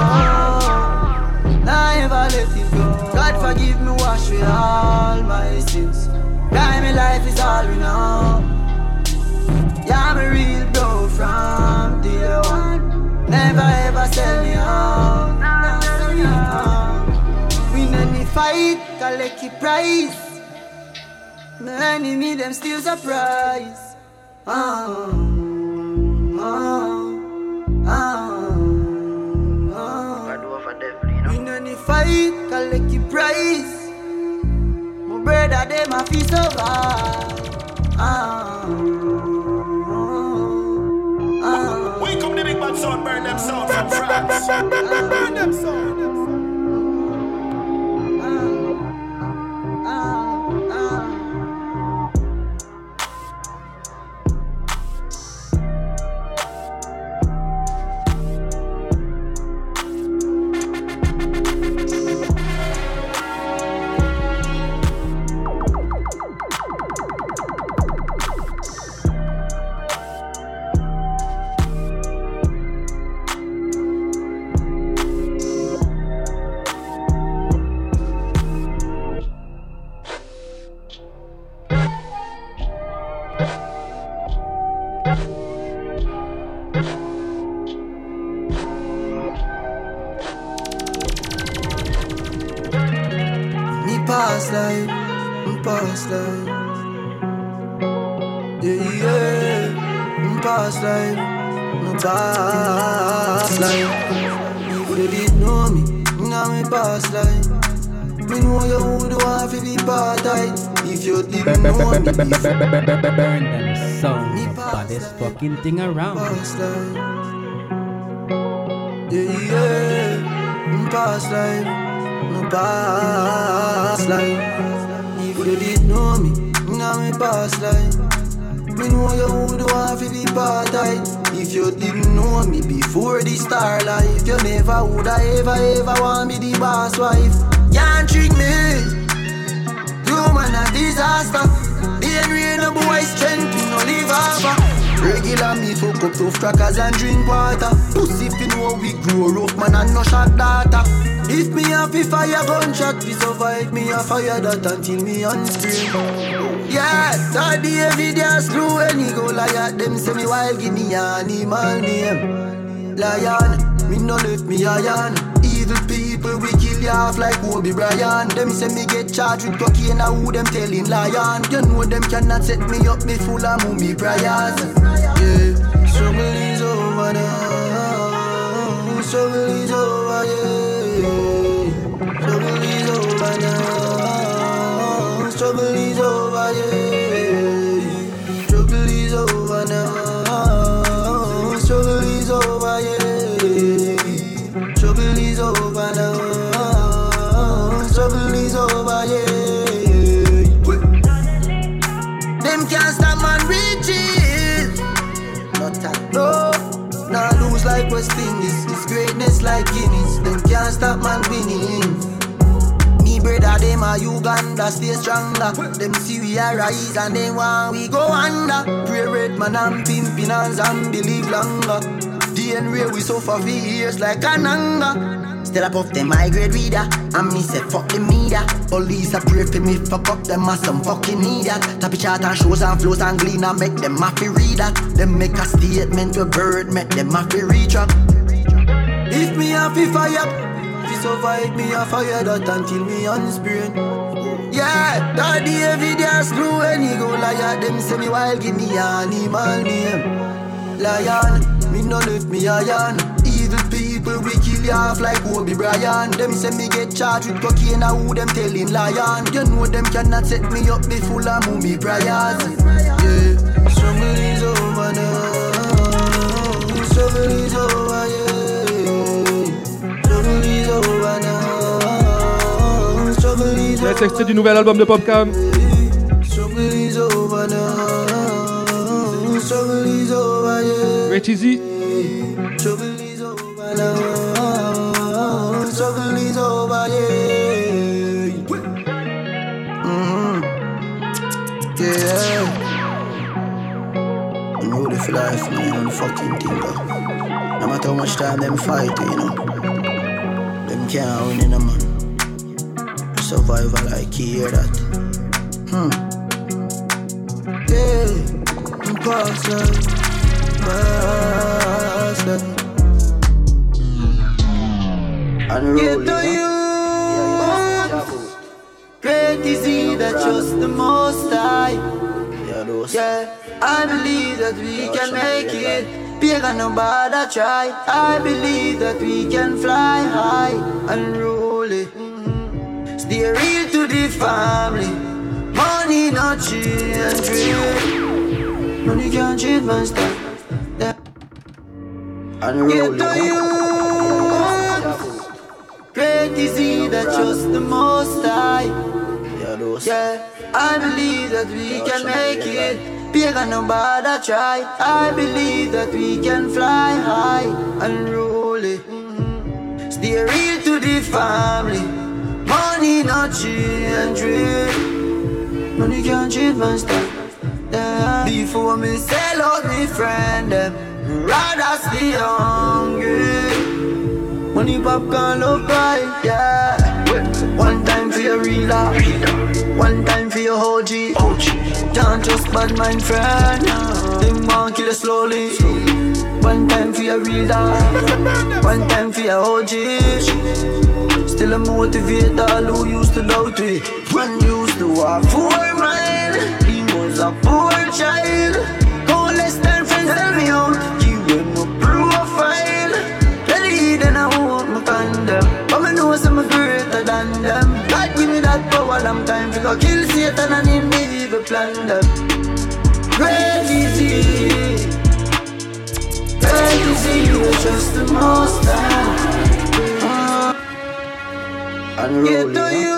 S12: Never let it go. God forgive me, wash away all my sins. Guide me, life is all we know. Yeah, I'm a real bro from day one. Never ever sell me out. Win any fight, collect your prize. My enemy, them still surprise. Win any fight, collect your prize. My brother, them a feel survive.
S13: Wake up the big bad sound, burn them sound from France. Burn them sound.
S12: Past life, yeah, past life, no past life. If you did know me, now me past life. Me know you would want to be part time. If you didn't know me,
S4: burn them sound, baddest fucking thing around.
S12: Past life,
S2: Yeah, my past life. If you did know me, now my past life. Me know you would want to be part-time. If you didn't know me before the star life, you never would ever want me the boss wife. Can't trick me, you man a disaster. The rain no boy strength, you no live over. Regular me fuck up tough crackers and drink water. Pussy if you know we grow rough man and no shot data. If me have to fire gunshot, we survive me a fire that until me on screen. Yeah, that the evidence true when he go liar. Them say me wild, give me animal name. Lion, me no left me iron. Evil people we kill you off like Kobe Bryant. Them say me get charged with cocaine, now who them telling lion. You know them cannot set me up, me full of mummy prayers. Yeah, struggle is over now. Struggle is over, yeah. Struggle is over now. Struggle is over, yeah. Struggle is over now. Struggle is over, yeah. Struggle is over now. Struggle is over, yeah. Them can't stop man reaching. No, nah lose like West Indies. It's greatness like Guinness. Them can't stop man winning. Me brother, them a Uganda, stay stronger. Them see we a rise and they want we go under. Pray red man and pimpin' hands and believe longer. DNA we suffer for years like an anger. Still up off them high grade reader. And me say fuck the media. Police a pray for me, fuck up them as some fucking idiot. Tap chart and shows and flows and glean and make them happy read that. Them make a statement to bird, make them happy reach up. If me happy fire, if survive me a fire that until me unsprain. Yeah, that the evidence true when he go liar. Them say me wild, give me animal name. Lion, me no left me iron. Evil people we kill you off like Kobe Bryant. Them say me get charged with cocaine, now who them telling lion. You know them cannot set me up, be full of mummy prayers. Yeah, struggle is over now. Struggle is over, yeah. Struggle is over now. Struggle is over.
S17: C'est extrait du nouvel album de Popcaan.
S2: Struggle is over now. Struggle is over, yeah.
S17: Rich Easy.
S2: Struggle is over now. Struggle is over, yeah. Yeah. I'm ready for life, man. I'm fucking thing, bro. No matter how much time them fight, you know. Them can't win in a man. Survival, like you hear that. Yeah. Past life. Get to you. Great is he that trusts the Most High. Yeah, I believe that we can make it. Bigger no bother try. I believe that we can fly high and roll it. Stay real to the family. Money not change real. Money can't change my style. Yeah. Get to you. Great is he that trusts the Most High. Yeah, I believe that we can make it. Bigger no bother try. I believe that we can fly high and roll it. Stay real to the family. Money not change real. Money can't change my style. Yeah. Before me sell out me friend them, rather stay hungry. Money popcorn look right, yeah. One time for your real life, one time for your OG. Can't trust bad mind friend, them want kill you slowly. One time for your real life, one time for your OG. Still a motivate all who used to doubt it. One used to have 4 mile. A poor child, all less than friends tell me out. Give them a profile. Really, then I want my condom. But I know some greater than them. God give me that power, long time to go kill Satan and him evil plan them. Great is he.
S12: Great is He who trusts the Most High. Get to you.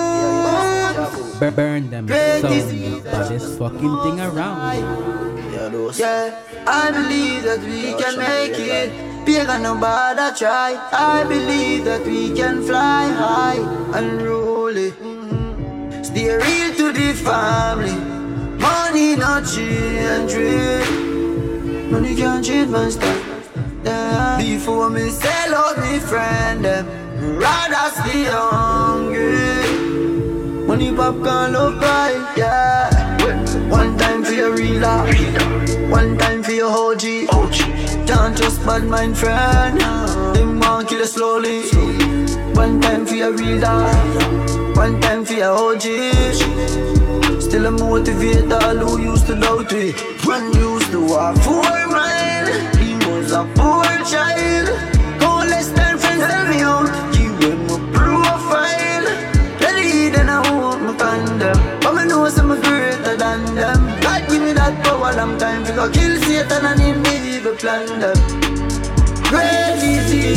S4: Burn them sound, the baddest fucking thing around.
S12: Yeah, I believe that we can make it. Pagan nobody try. I believe that we can fly high and roll it. Stay real to the family. Money not change it. Money can't change my style. Yeah. Before me sell out me friend them, rather stay hungry. Money popcorn love buy, yeah. One time for your real life, one time for your OG. Can't trust bad mind friend, them want kill you slowly. One time for your real life, one time for your OG. Still a motivate all who used to doubt me. One used to walk for mine, he was a poor child. Don't less than friends tell me out, give them a profile. Then I want my condom, but me know some greater than them. God give me that power, long time to go kill Satan and him evil plan them. Great is He,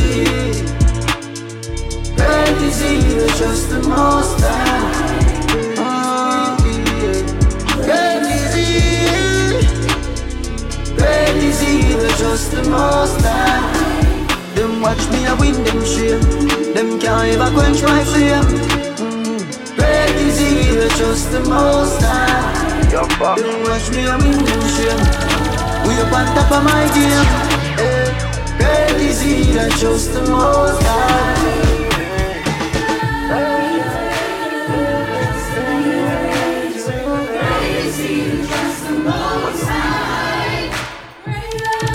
S12: great is He who trusts the Most High. Great is He, great is He who trusts the Most High. Them watch me a win them shame, them can't ever quench my flame. Great is He who trusts the Most High. Don't watch me a win them shame. We up on top of my game. Great is He that trusts the Most High. Great is He who trusts the Most High. Great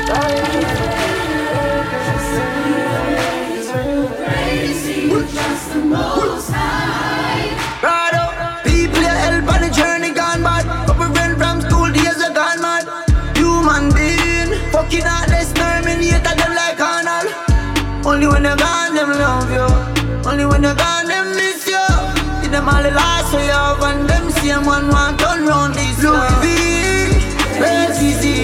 S12: is He who trusts the Most High. People you help on the journey gone bad. Couple friends from school days are gone mad. Human being fucking heartless, terminated them like Arnold. Only when they're gone them love you, only when they're gone them miss you. Give them all the last way you and them same one want turn round this Louis V. Great is He,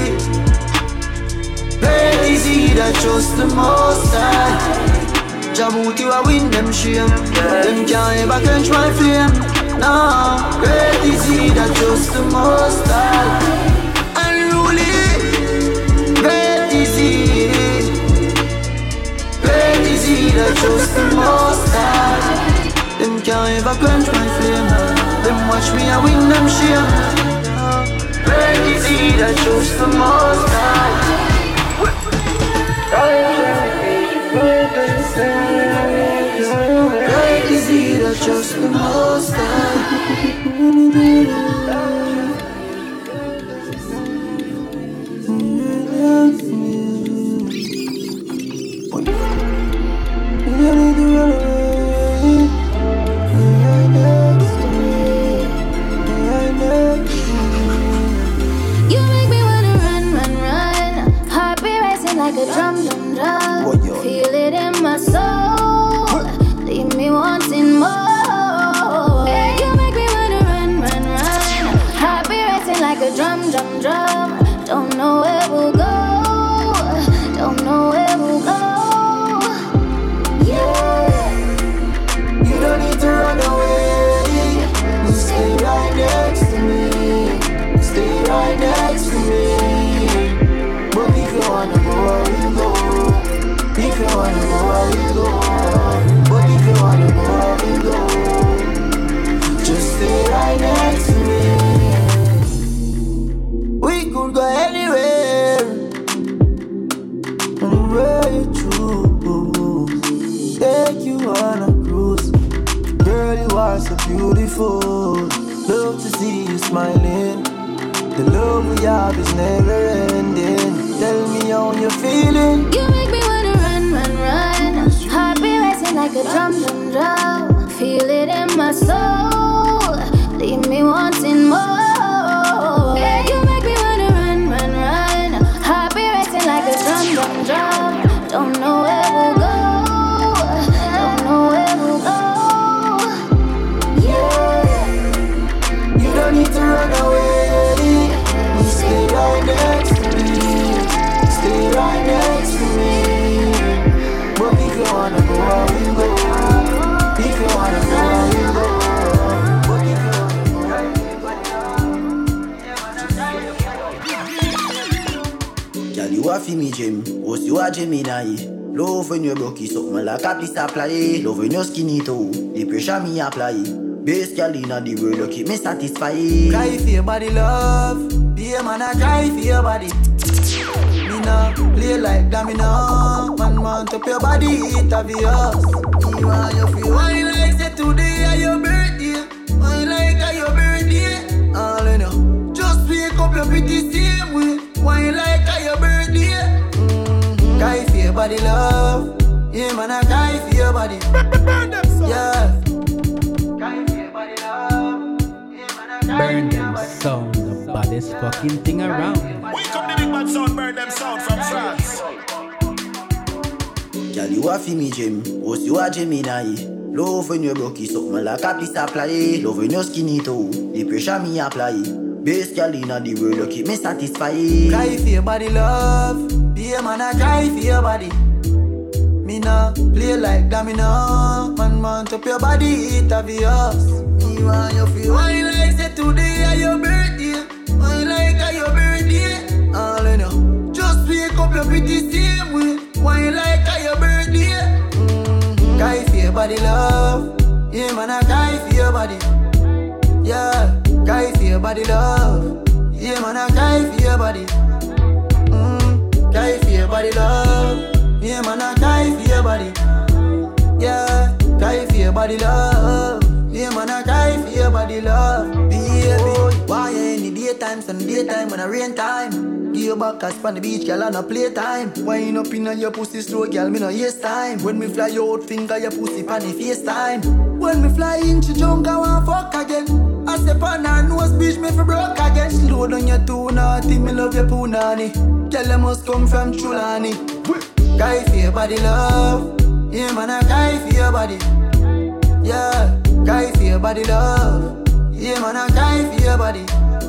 S12: great is He that trusts the Most High. Jabuti wa win them shame, them can't ever quench my flame. No, great is He that trusts the Most High. Unruly, great is He, great is He that trusts the Most High. Them can't ever quench my flame, them watch me and win them shame. Great is He that trusts the Most High. Great is He that trusts the Most High.
S7: You make me wanna run, run, run. Heart be racing like a drum, drum, drum. Feel it in my soul, leave me wanting more. You make me wanna run, run, run. Heart be racing like a drum, drum, drum. Don't know where we'll go, don't know where we'll go. Yeah,
S12: you don't need to run away. You stay right next to me, stay right next to me. But if you wanna go, I will go. If you wanna go, I will go. But if you wanna go, I will go. Just stay right next to me. We could go anywhere, anywhere you choose. Take you on a cruise. Girl, you are so beautiful. Love to see you smiling. The love we have is never ending. Tell me how you're feeling.
S7: You make me wanna run, run, run. Heart be racing like a drum, drum, drum. Feel it in my soul, leave me wanting more. You make me wanna run, run, run. Heart be racing like a drum, drum, drum. Don't know where we'll go, don't know where we'll go.
S12: Yeah, you don't need to run away. You stay right next to me, stay right
S19: fi me gym, was you a Gemini. Love when you broke it, something like a piece apply. Love when you skinny too, the pressure me apply. Best girl inna the world, you keep me satisfied.
S2: Cry for your body, love. Be a man, I cry for your body. Me nah play like that, me nah. Man top your body, it obvious. Me want you feel wine like say today are your birthday. Wine like a your birthday. All in you, just wake up your pretty same way. Wine like a your birthday. Cry for your body, love. Yeah, man, I cry for your body. Yeah. Cry for your body, love. Yeah, man, I cry
S4: Burn
S2: for your
S4: them
S2: body.
S4: sound, the baddest fucking thing around.
S9: Wake up the big bad sound, burn them sound from France.
S19: Girl, you a fi me gym, was you a Gemini. Love when you broke it, something like a piece apply. Love when you skinny too, the pressure me apply. Best girl inna the world, you keep me satisfied.
S2: Cry for your body, love. Be a man, I cry for your body. Me nah play like that, me nah. Man top your body, it obvious. Me want you feel wine like say today are your birthday. Wine like a your birthday. All in you, just wake up your pretty same way. Wine like a your birthday. Cry for your body, love. Yeah, man, I cry for your body. Yeah, cry for your body, love. Yeah, man, I cry for your body. Cry for your body, love. Yeah, man, I cry for your body. Yeah, cry for your body, love. Yeah, man, I cry for your body, love. Baby, why you in the daytime, sun daytime, when I rain time? Give your back as on the beach, girl, on a playtime. Wine up in your pussy slow, girl, me no waste time. When me fly out, finger your pussy pan the FaceTime. When me fly into junk, I want fuck again. I step on her nose, bitch, me fi broke again. Slow down your too naughty, me love your punani. Girl, you must come from Chulani. Cry for your body, love. Yeah, man, I cry for your body. Yeah, cry for your body, love. Yeah, man, I cry for your body.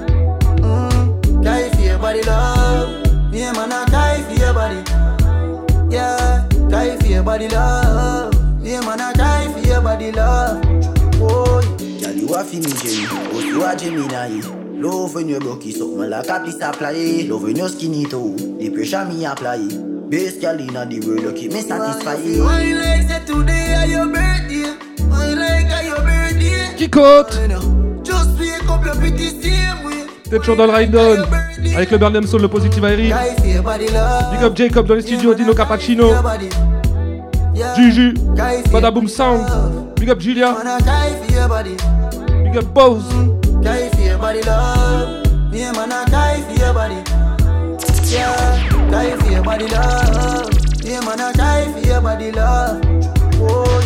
S2: Cry for your body, love. Yeah, man, I cry for your body. Yeah, cry for your body, love. Yeah, man, I cry for your body, love. Oh,
S19: girl, you a fi me gym, was you a Gemini. Love when you broke it, something like a piece apply. Love when you skinny too, the pressure me apply. Best girl inna the world, you keep me satisfied.
S2: wine like say today are your birthday. Wine like a your birthday.
S17: Kikote.
S2: Just wake up your pretty same way.
S17: T'es toujours dans le ride-on avec le Burnham Soul, le Positive Airy. Big up Jacob dans les studios, Dino Cappuccino. Juju, Badaboom Sound. Big up Julia. Big up Bose.
S2: Cry for your body, love. Yeah, man, I cry for your body. Yeah, cry for your body, love. Yeah, man, I cry for your body, love. Oh,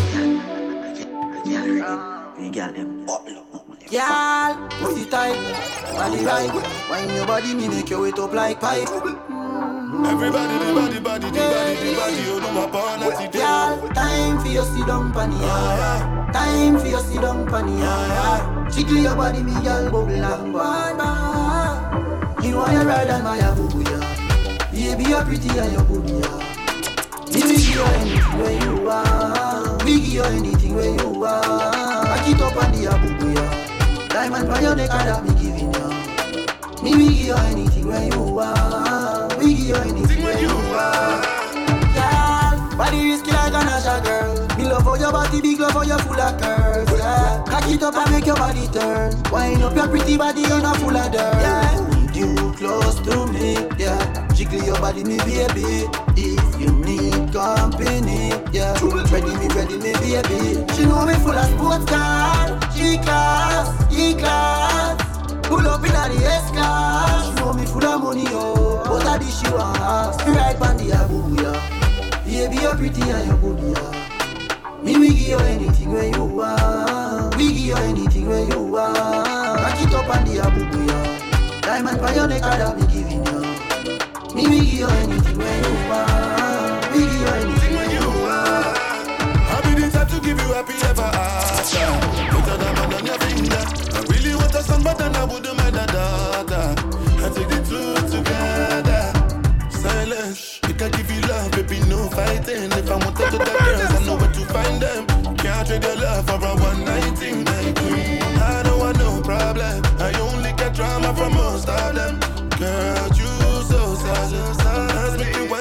S19: Girl, them
S2: girl, pussy tight, body right. Wine your body, me make you wet up like pipe.
S9: Everybody, the body, you know my partner today.
S2: Girl, time for your sit down panny, yeah. Time for your sit down panny, yeah. Jiggle your body, me girl, bubble and bye. You know you ride on my boo, yeah. Baby, you're pretty and you're good, yeah. Me will give you anything where you want. We give you anything where you want. Back it up on the boo, yeah. Diamond by your neck, that me giving you. Me will give you anything where you want. We give you anything where you want. Girl, body risky like a Nasha girl. Me love for your body, big love for your full of curves, yeah. Cock it up and make your body turn. Wind up your pretty body, you're not full of dirt, yeah. You close to me, yeah. Jiggle your body, me baby. If you need company, yeah. Ready me, baby. She know me full of sports car. G-class, E-class. Pull up in the S-class. She know me full of money, oh. But I dish you ass. Me right on the aboo, yeah. Baby, you're pretty and you're good, yeah. Me we give you anything where you want. We give you anything where you want. Back it up on the aboo, yeah. Diamond by your neck, that me giving you. Me we give you anything where you want. We give you anything where you want.
S9: I'll be the type to give you happy ever after. Put a diamond on your finger. I really want a son, but then I wouldn't mind a daughter. I take the two together. Silence, you can give you love, baby, no fighting. If I want to the girls, I know where to find them. Can't trade your love for a one-night thing, my queen. I don't want no problem. I only get drama from most of them. Girl, you so sad. Ask me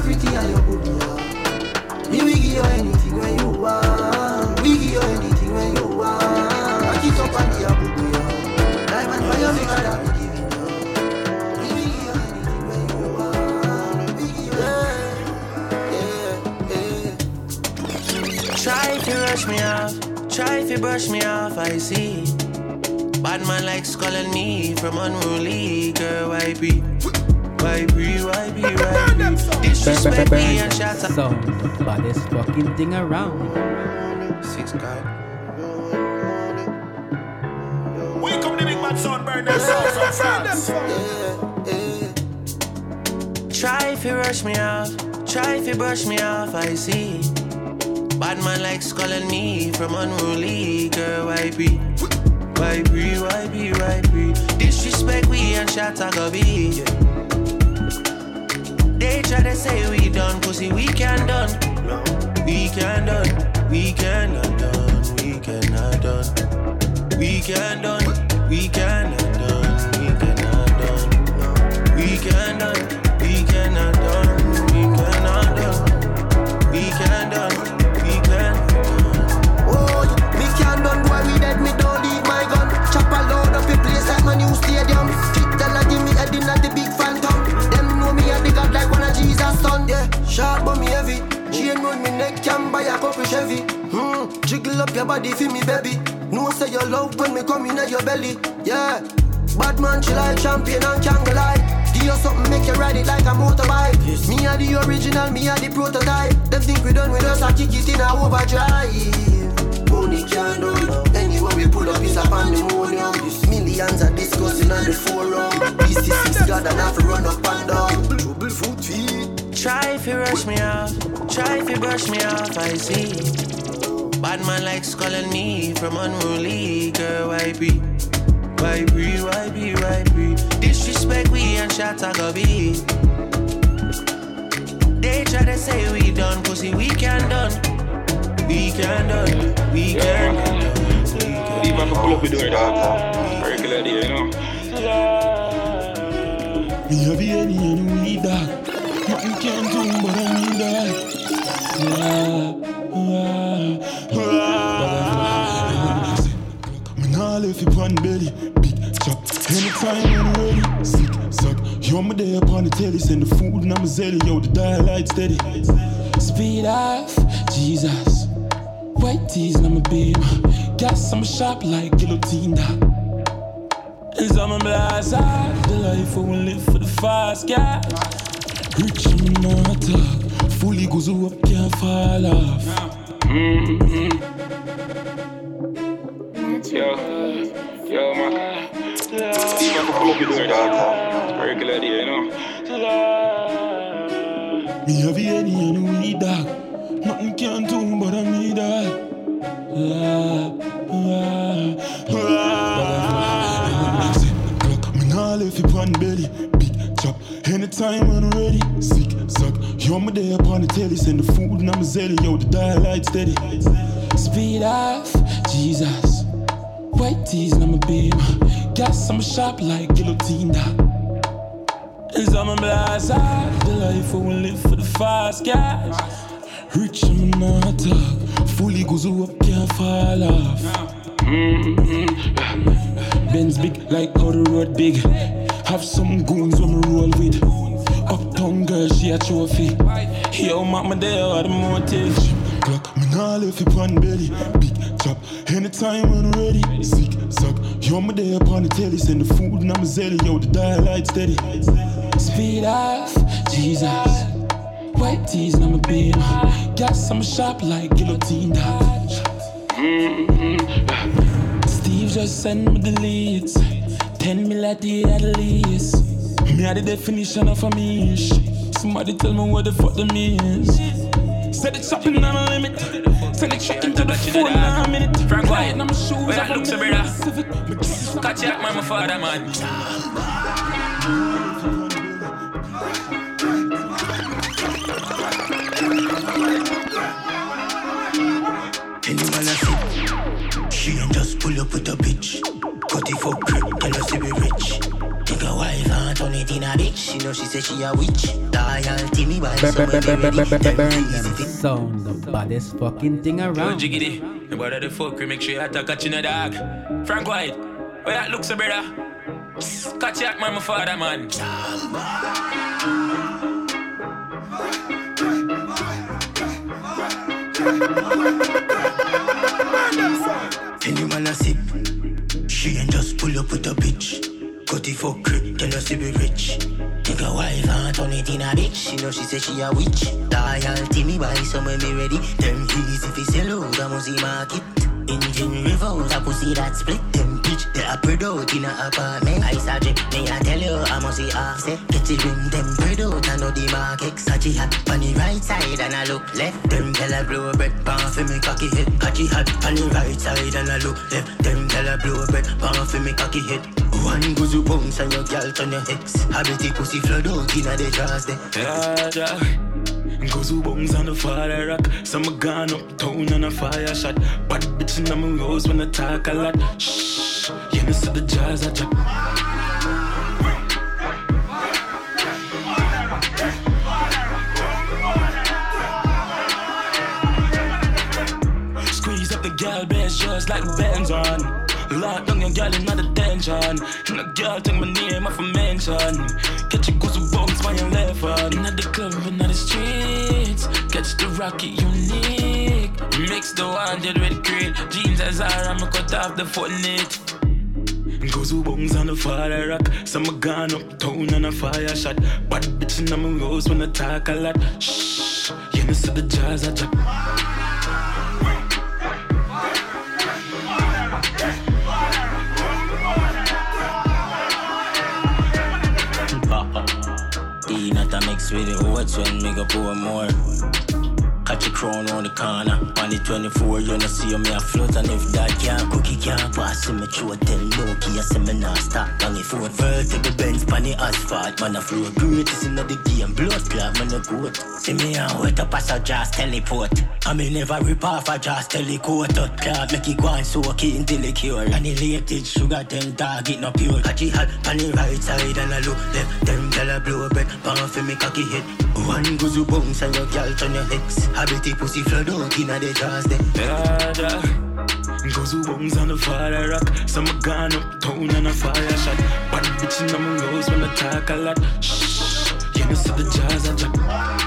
S2: pretty and you good, yeah. Me we give you anything when you want. We give you anything when you want. Back it up and give you good, yeah. Diamond for your maker that we giving you. We give you anything when you want. We give you
S18: Try to rush me off, try to brush me off, I see. Bad man likes calling me from unruly. Girl, why be? Disrespect me and shut up.
S4: Sound the baddest fucking thing around.
S18: 6 guy.
S13: Wake up the big bad son, burn that sound from France.
S18: Try to rush me off, try to brush me off, I see. Bad man likes calling me from unruly. Girl, why be? Disrespect we and shot a go be. They try to say we done, pussy we can done. We can done, we cannot done, we cannot done. We can done, we cannot done, we cannot done. We can done, we cannot done, we cannot done. We can done, we cannot done.
S2: Oh, me can done, boy, we dead, me don't leave my gun. Chop a load up a place like my new stadium. Fit tell her give me a dinner at the big phantom. Them know me a the god like one of Jesus' son. Yeah, sharp but me heavy. Chain round me neck, can buy a couple Chevy. Jiggle up your body for me, baby. No say you love when me come in at your belly. Yeah, bad man chill like champion and can't go lie. Do you something make you ride it like a motorbike? Me a the original, me a the prototype. Them think we done with us, I kick it in a overdrive. Money can't do it. Anywhere we pull up is a pandemonium. These millions are discussing on the forum. This is 6 God and have to run up and down. Trouble foot feet.
S18: Try to rush me off, try to brush me off, I see. Bad man likes calling me from unruly. Girl, why be? Disrespect we and shot a go be. They try to say we done, pussy we can done. We can done, we can done.
S20: Even if I pull up with the dog, regular day, you know.
S21: Me have any weed dog. Nothing can do but I need that. Me nah left you on belly. Big chop, anytime when ready. Sick, suck, you're my day upon the telly. Send the food and I'm a zelly. Yo, the dial light steady. Speed off, Jesus. White tees and I'm a beam. Gas, I'm a shop like guillotine dog. As I'm a blast off. The life I will live for the fast gas. Rich and not talk. Fully goes up, can't fall off.
S20: Yo, man. Even if I pull up with the dog, regular day, you know.
S21: Me have any weed dog. Nothing can do but I need that. Me nah left you on belly. Big chop, anytime when ready. Sick, suck, you're my day upon the telly. Send the food and I'm a zelly. Yo, the dial light steady. Speed off, Jesus. White tees and I'm a beam. Gas, I'm a shop like guillotine dog. As I'm a blast off. The life I will live for the fast gas. Rich and not talk. Fully goes up, can't fall off. Benz big like how the road big. Have some goons when me roll with. Uptown girl, she a trophy. Yo, mama there are the motive. Clock, me nah left you on belly. Big chop, anytime when ready. Sick, suck, you're my day upon the telly. Send the food and I'm a zelly. Yo, the dial light steady. Speed off, Jesus. White tees and I'm a beam. Gas, I'm a shop like guillotine dog. Steve just sent me the leads. 10 mil a day at least. Me are the definition of a mish. Somebody tell me what the fuck the means. Said it's shopping on a limit. Send it straight into the phone in a minute.
S18: Frank White,
S21: I'm shoes.
S18: where I look so brother. Catch you man, my father man.
S22: Anyone I see, she don't just pull up with a bitch. Cut it for grip, tell us to be rich. Take a wife and turn it in a bitch.
S19: she say she a witch. Loyalty me buy somewhere me ready.
S4: Sound the baddest fucking thing
S11: Yo,
S4: around.
S11: jiggity, the brother the fuck, we make sure you attack catching a dog. Frank White, where that looks, brother? Catch that man, my father, man.
S22: Any man a sip, she ain't just pull up with a bitch. Cut it for crib, tell us to be rich. Take a wife and turn it in a bitch.
S19: You know she say she a witch. Loyalty me buy somewhere me ready. Them keys if it's hello, the must market. Engine revolves, a pussy that split. Them bitch, they a spread out in a apartment. I suggest me I tell you, I must see offset. Get it ring, them spread out, I know the market. Sachi hat on the right side and I look left. Them tell her blow bread, pan for me cocky head. Sachi hat on the right side and I look left. Them tell her blow bread, pan for me cocky head. One goes you bounce and your girl turn your ex. Habity pussy flood out in a the jars there.
S21: Yeah. Goes who bones on the fire rock. Some gone uptown on a fire shot. Bad bitch in my rose when I talk a lot. Shh, you know see the jazz I drop. Squeeze up the gal best just like Benz on. Lock down your girl in the detention. And the girl take my name off a mention. Catch your goosebumps by your left hand. In the club and the streets. Catch the rocket unique. Mix the 100 with great. Jeans as I'm cut off the foot knit. Goosebumps on the fire rock. Some gone uptown on a fire shot. Bad bitch in my rose when I talk a lot. Shh, you know see the jazz I drop.
S22: Not a mix with the oats when me go pour more. Catch a crown on the corner. On the 24, you know see me a float. And if that can't cook, it can't pass. Me throat tell Loki, I say me not stop. On the foot, vertical bends on the asphalt. Man a flow greatest in the game. Blood clot, man a goat. See me and wet up as a jazz teleport. I me never rip off a jazz telecoat. Cloud make it go and soak it until it cure. And the latest sugar, then target no pure. Catch it hot on the right side and I look left. Them tell a blow bread, pan for me cocky head. One goes you bounce and your girl turn your ex. Habity pussy flood out in a the jazz there.
S21: Yeah. Goes who bones on the fire rock. Some gone uptown on a fire shot. Bad bitch in my rose when I talk a lot. Shh, you know see the jazz I drop.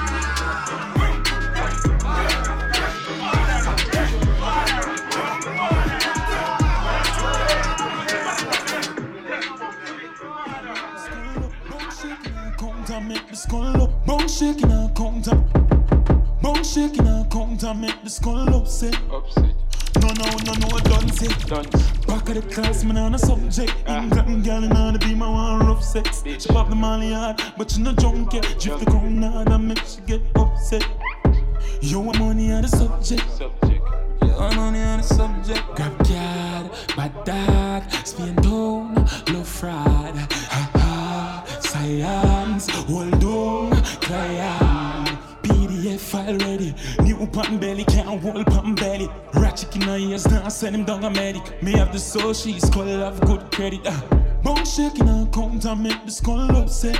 S21: Make the skull up, bone shaking and count up. Bone shaking and count and make the skull upset. No, done set. Back of the class, man, on a subject. England girl in on the beam, I want rough sex. She pop the molly hard, but she no drunk yet. Drift the crown hard and make she get upset. You want money on the subject. You want money on the subject. Grab card, bad dog, spin down, low fraud. Ha ha, science, hold on, client. PDF file ready. New pan belly, can't hold pan belly. Ratchet in her ears, now send him down a medic. Me have the soul, she's skull have good credit. Bone shaking her count and make the skull upset.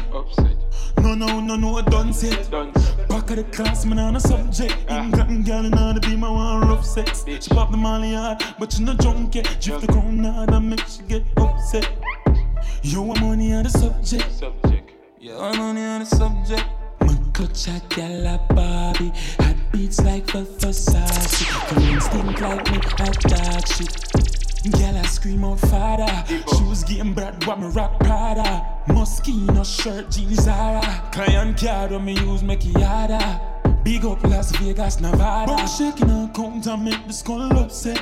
S21: No, done set. Back of the class, man, on a subject. England girl in on the beam, I want rough sex. She pop the molly hard, but she no drunk yet. Drift the crown hard and make she get upset. You want money on the subject. You want money on the subject. Clutch a gal a Barbie. Hot beats like Versace. Come stink like me at dark shit. Gal I scream out father. Shoes getting bad but me rock Prada. Moschino shirt jeans Zara. Client card when me use make it harder. Big up Las Vegas, Nevada. Bone shaking her count and make the skull upset.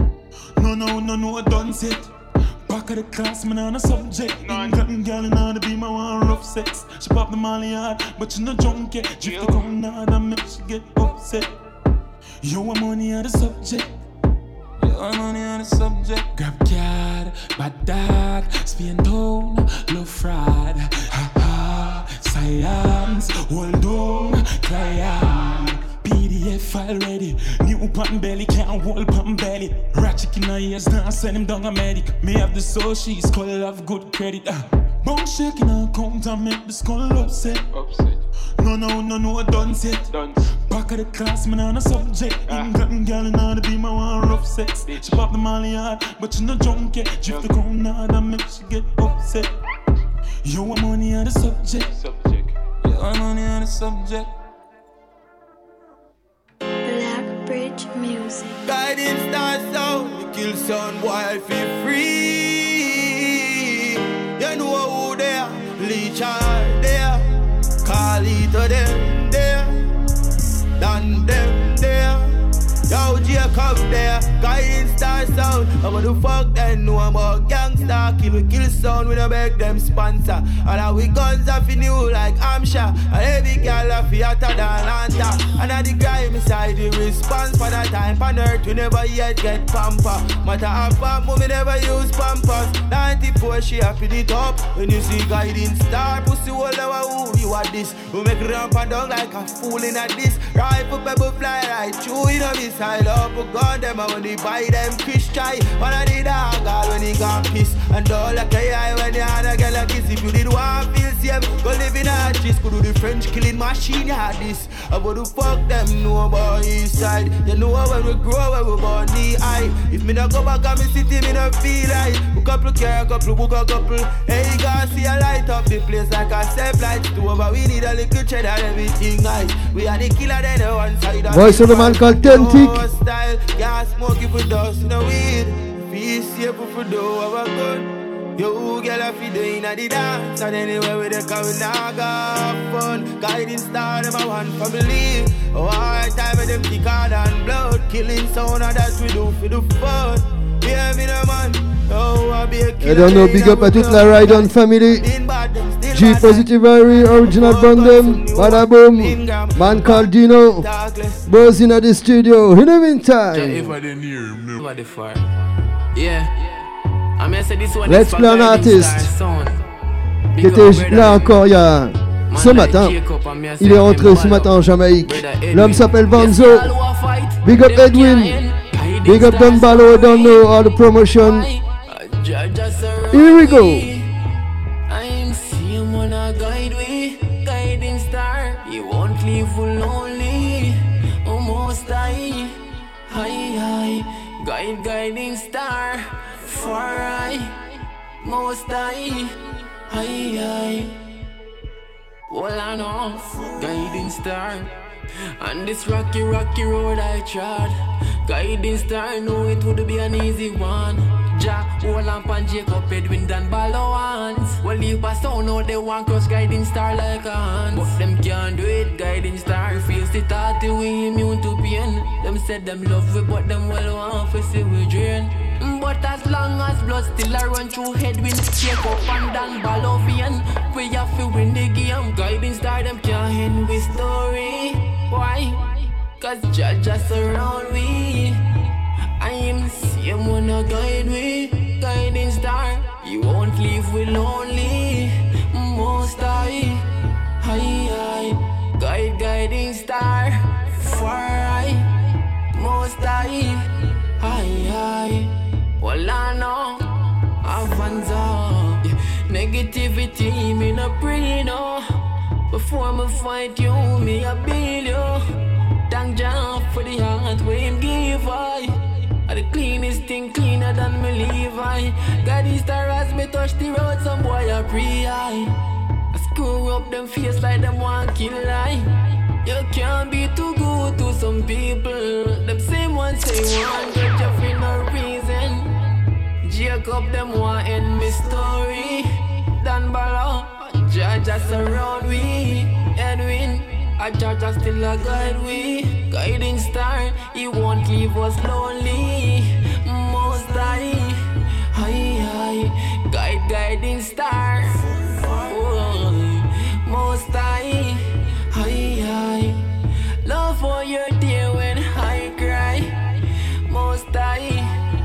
S21: No, done set. Back of the class, man, on a subject. England girl in on the beam, I want rough sex. She pop the molly hard, but she no drunk yet. Drift the crown hard and make she get upset. You want money on the subject. You want money on the subject. Grab card, bad dog, spin down, low fraud. Ha ha, science, hold on, client. PDF file ready. New pan belly, can't hold pan belly. Ratchet in her ears, now send him down a medic. Me have the soul, she's skull have good credit. Bone shaking and count and make the skull upset. No, done set. Back of the class, man, on a subject. England girl in all the be my one rough sex. She pop the molly hard, but she no drunk yet. Drift the crown hard and make she get upset. You want money on the subject. You want money on the subject.
S7: Black Bridge Music.
S2: Guiding star sound, we kill sound boy, I feel free. You know who there, Leech are there. Call it to them there, done them there. Yo, Jacob there, guiding star sound. I'm gonna fuck them, know about gangsta. Kill sound, we don't beg them sponsor. And our guns are for new like Amsha. And every girl are fiater than Atlanta. And at the grime side, the response for that time on earth, we never yet get pamper. Matter of fact, mommy never use pampers. 94, she happy it up. When you see guiding star, pussy all over who you are this. We make ramp and down like a fool in a this. Rifle pebble fly right through in a missile up. We gun them and when they buy them fish try. One of the dog all when he got piss. And all like a eye when you had a girl like this. If you did one feel safe, go live in a cheese. Could do the French killing machine, you had this. About to fuck them, know about east side. You know when we grow, when we born the eye. If me not go back on me city, me not feel right. Book couple care, couple, book a couple. Hey, you gotta see a light up the place like a step light too. But we need a little cheddar, everything nice. We are the killer, then the one side.
S6: Voice of the man called Tentic.
S2: Style, gas smoke if we dust in the weed. Feel safe if we do our good. Yo, girl, if you doing a the dance, and anywhere with the car, we now got fun. Guiding star, them a one family. Oh, all time with them thicker than blood. Killing sound, and that's we do for the fun. Yeah, me the man. Oh, I be a killer.
S6: I don't know, big up à toute la Ride On family. G Positive Irie, original Bundem, Bada Boom, man called Dino, Buzz in the studio. In the meantime, Let's Play un artiste qui était là encore il y a ce matin. Il est rentré ce matin en Jamaïque. L'homme s'appelle Vanzo. Big up Edwin. Big up Don Ballo. Don't know all the promotion. Here we go.
S1: I'm seeing when I guide we, guiding star. You won't leave lonely. Almost high, guiding star. Far high, most high. Well, I know, guiding star. On this rocky road I trod. Guiding star, know it would be an easy one. Ja, Olamp and Jacob, Edwin, Dan Ballo hands. Well, you pass out now, they want cross guiding star like a hands. But them can't do it, guiding star. Feels the thought we immune to pain. Them said them love we, but them well want to see we drain. But as long as blood still a run through Edwin, Jacob and Dan Ballo vein, we have to win the game. Guiding star, them can't end with story. Why? Cause Jah just surround we. I am the same one a guide we. Guiding star, you won't leave we lonely. Most high, guiding star. Far high, most high. Well, I know, Avanza. Negativity, me no pray, no. Before me fight you, me a build you. Thank Jah for the heart we him give I. The cleanest thing cleaner than me Levi. Guiding star as me touch the road, some boy a pre-eye. I screw up them face like them want kill I. You can't be too good to some people. Them same ones say want get you for no reason. Jacob them want end me story. Dan Ballo, Jah just surround we. Edwin, a Jah still a guide we. Guiding star, he won't leave us lonely. Most high, guiding star. Oh, most high, love for your dear when I cry. Most high,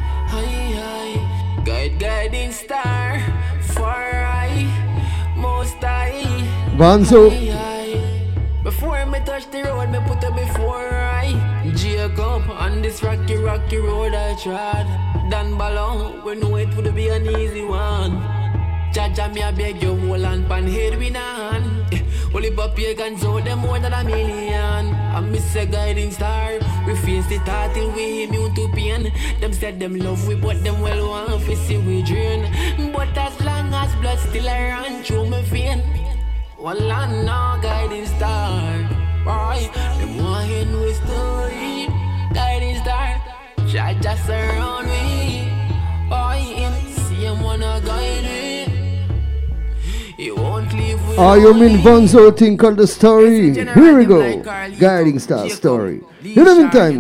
S1: guiding star. Far high, most high.
S6: Vanzo.
S1: Before me touch the road, me put it before I. Jacob, on this rocky road I trod. Dan Ballo, we know it would be an easy one. Jaja, me I beg you, hold on, pan head we nan. Only but pagans out them more than a million. I miss a guiding star. We face the thought till we immune to pain. Them said them love we, but them well want to see we drain. But as long as blood still a run through my vein, well I know guiding star. Boy, them want in with story. Guiding star, Jaja surround me. Boy, him see him wanna guide me. He won't leave with
S6: Armin Vanzo thing called The Story. Here we go. Guiding Star Story. In the meantime,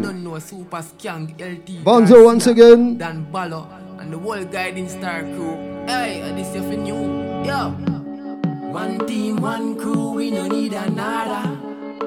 S6: Vanzo once again.
S1: Dan Ballo and the whole Guiding Star crew. Hey, this is for new. Yo. One team, one crew, we no need another.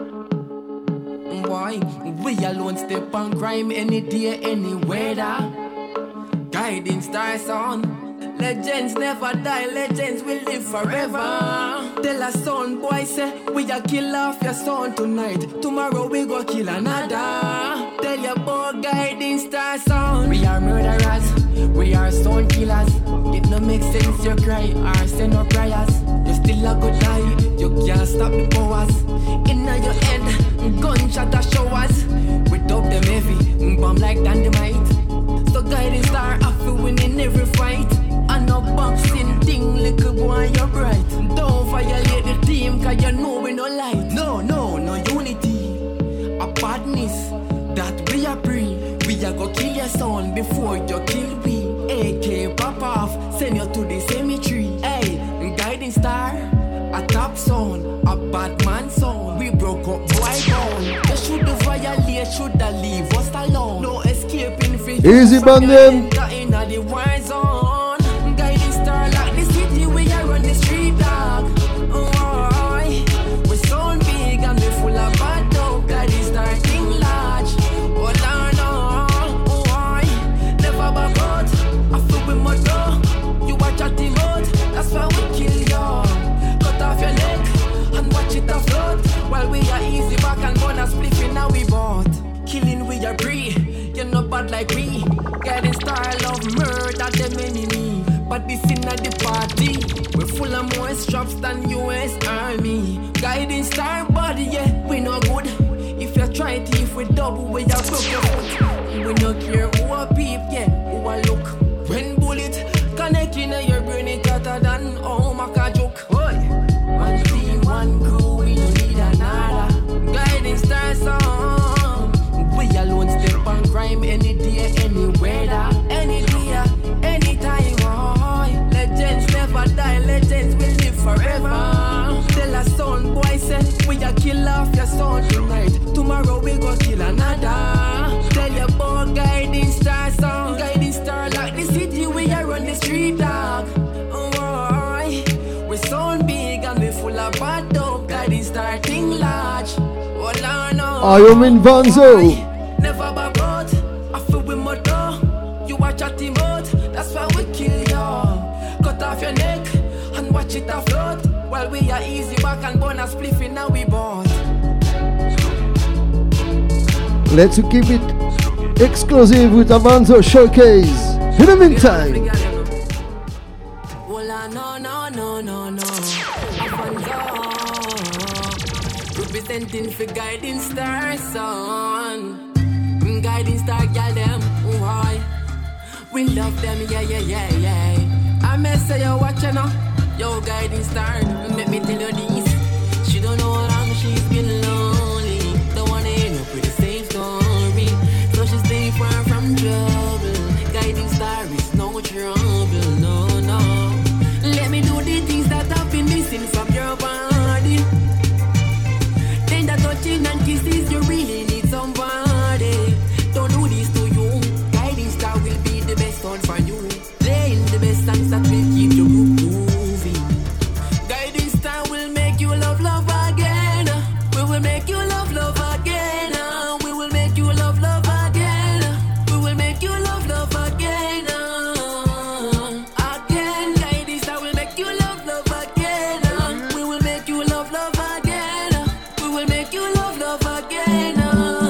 S1: Boy, we alone step on crime any day, any weather. Guiding Star sound. Legends never die, legends will live forever. Tell a son, boy, say, we a kill off your son tonight. Tomorrow we go kill another. Tell your boy, Guiding Star son. We are murderers, we are son killers. It no make sense you cry or send no prayers. You still a go die, you can't stop the powers. Inna your head, gunshot a showers. We dub them heavy, bomb like dynamite. So Guiding Star after winning every fight. And no boxing thing, little boy, you're bright. Don't violate the team, cause you know we no light. No unity, a badness that we are free. We are go kill your son before you kill me. AK pop off, send you to the cemetery. Hey, Guiding Star, a top son, a bad man son. We broke up boy down. You should violate, should leave us alone. No escaping for
S6: Easy Bandem.
S1: in the war zone. Like the city we are on the street dog. Oh, we're so big and we're full of bad dog. Guiding Star thing large. Oh no, never back out. I feel with my door. You watch at the mouth, that's why we kill you. Cut off your neck and watch it afloat. While we are easy back and burn a spliff now we bought. Killing we are free, you're not bad like we. Guiding Star love murder them enemy. But this in the party, we're full of more straps than US Army. Guiding Star body, yeah, we no good. If you try it, if we double, we are broke your foot. We no care who a peep, yeah, who a look. When bullet connecting in your brain, it hotter than Maka joke. One team, one crew, we no need another. Guiding Star song. We alone step on crime any day, any weather, any day, anytime. Legends never die, legends will live forever. Tell a son, boy, say, we a kill off your son tonight. Tomorrow we go kill another. Tell your boy, Guiding Star song. Guiding Star like the city, we are on the street dog. Oh, we're so big and we full of bad dog. Guiding Star thing large. Oh, no.
S6: Armin Vanzo.
S1: Never back out, I feel with my door. You watch at the mouth, that's why we kill you. Cut off your neck and watch it afloat. While we are easy back and burn a spliff now we bought.
S6: Let's keep it exclusive with Avanzo Showcase. In the meantime,
S1: No. Avanzo representing for Guiding Star son. Guiding Star girl them, why? We love them, yeah. I may say you watching now, yo Guiding Star. Let me tell you this, she don't know how long she's been lonely. Don't wanna end up with the same story, so she stay far from trouble. Guiding Star is no trouble, no. Let me do the things that I've been missing from your body. Then the touching and kisses, you really need somebody. Don't do this to you. Guiding Star will be the best one for you. Playing the best songs that will keep you moving. Guiding Star will make you love again. We will make you love again. We will make you love again. We will make you love again. Again, Guiding Star will make you love again. We will make you love again. We will make you love again.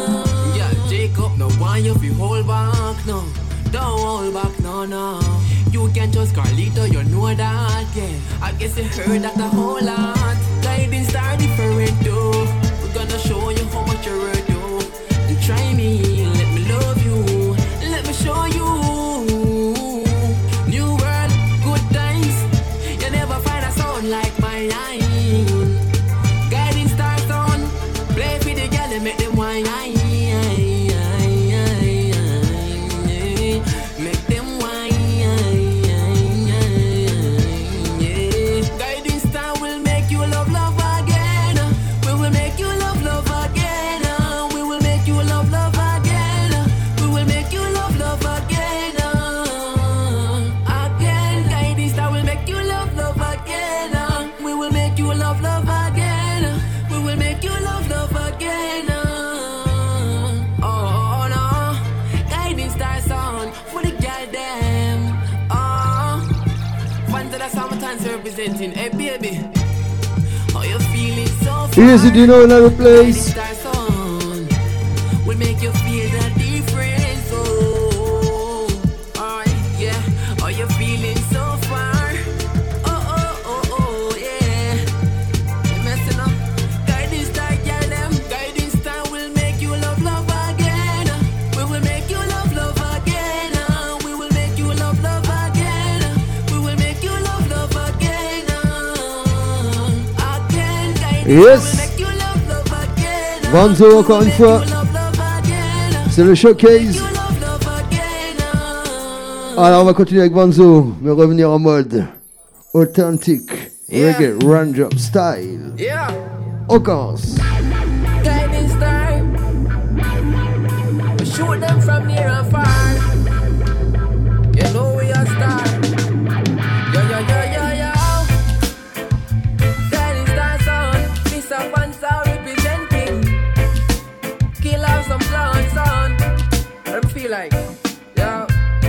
S1: Yeah, Jacob, no why you feel hold back, no. Don't hold back, no. You you can trust Carlito, you know that, yeah. I guess you heard that a whole lot. Guiding star different too. We're gonna show you how much you're worth, yo. And try me, let me love you. Let me show you. New world, good times. You never find a sound like mine. Guiding star sound. Play for the girl and make them wine. Make them wine. Guiding star will make you love again. We will make you love again. We will make you love again. We will make you love again. Again, guiding star will make you love again. We will make you love again. We will make you love again. Oh no, guiding star sound for the girl them. Oh, fans of the summertime representing. Hey baby, how you feeling so far?
S6: Easy, do you know another place?
S1: Guiding star sound will make you feel the difference. Oh, alright, yeah. How you feeling so far? Oh, yeah. You messing up. Guiding star, girl, them. Guiding star will make you love again. We will make you love again. We will make you love again. We will make you love again. Again, guiding
S6: Yes.
S1: star will make you love again.
S6: Vanzo encore une fois. C'est le showcase. Alors on va continuer avec Vanzo, mais revenir en mode authentique, reggae, run-job style.
S1: Yeah.
S6: On commence.
S1: Guiding star. We shoot them from near and far. You know we are star. Yo. Guiding star sound. This a one sound representing. Kill off some clown sound. What I feel like. Yo.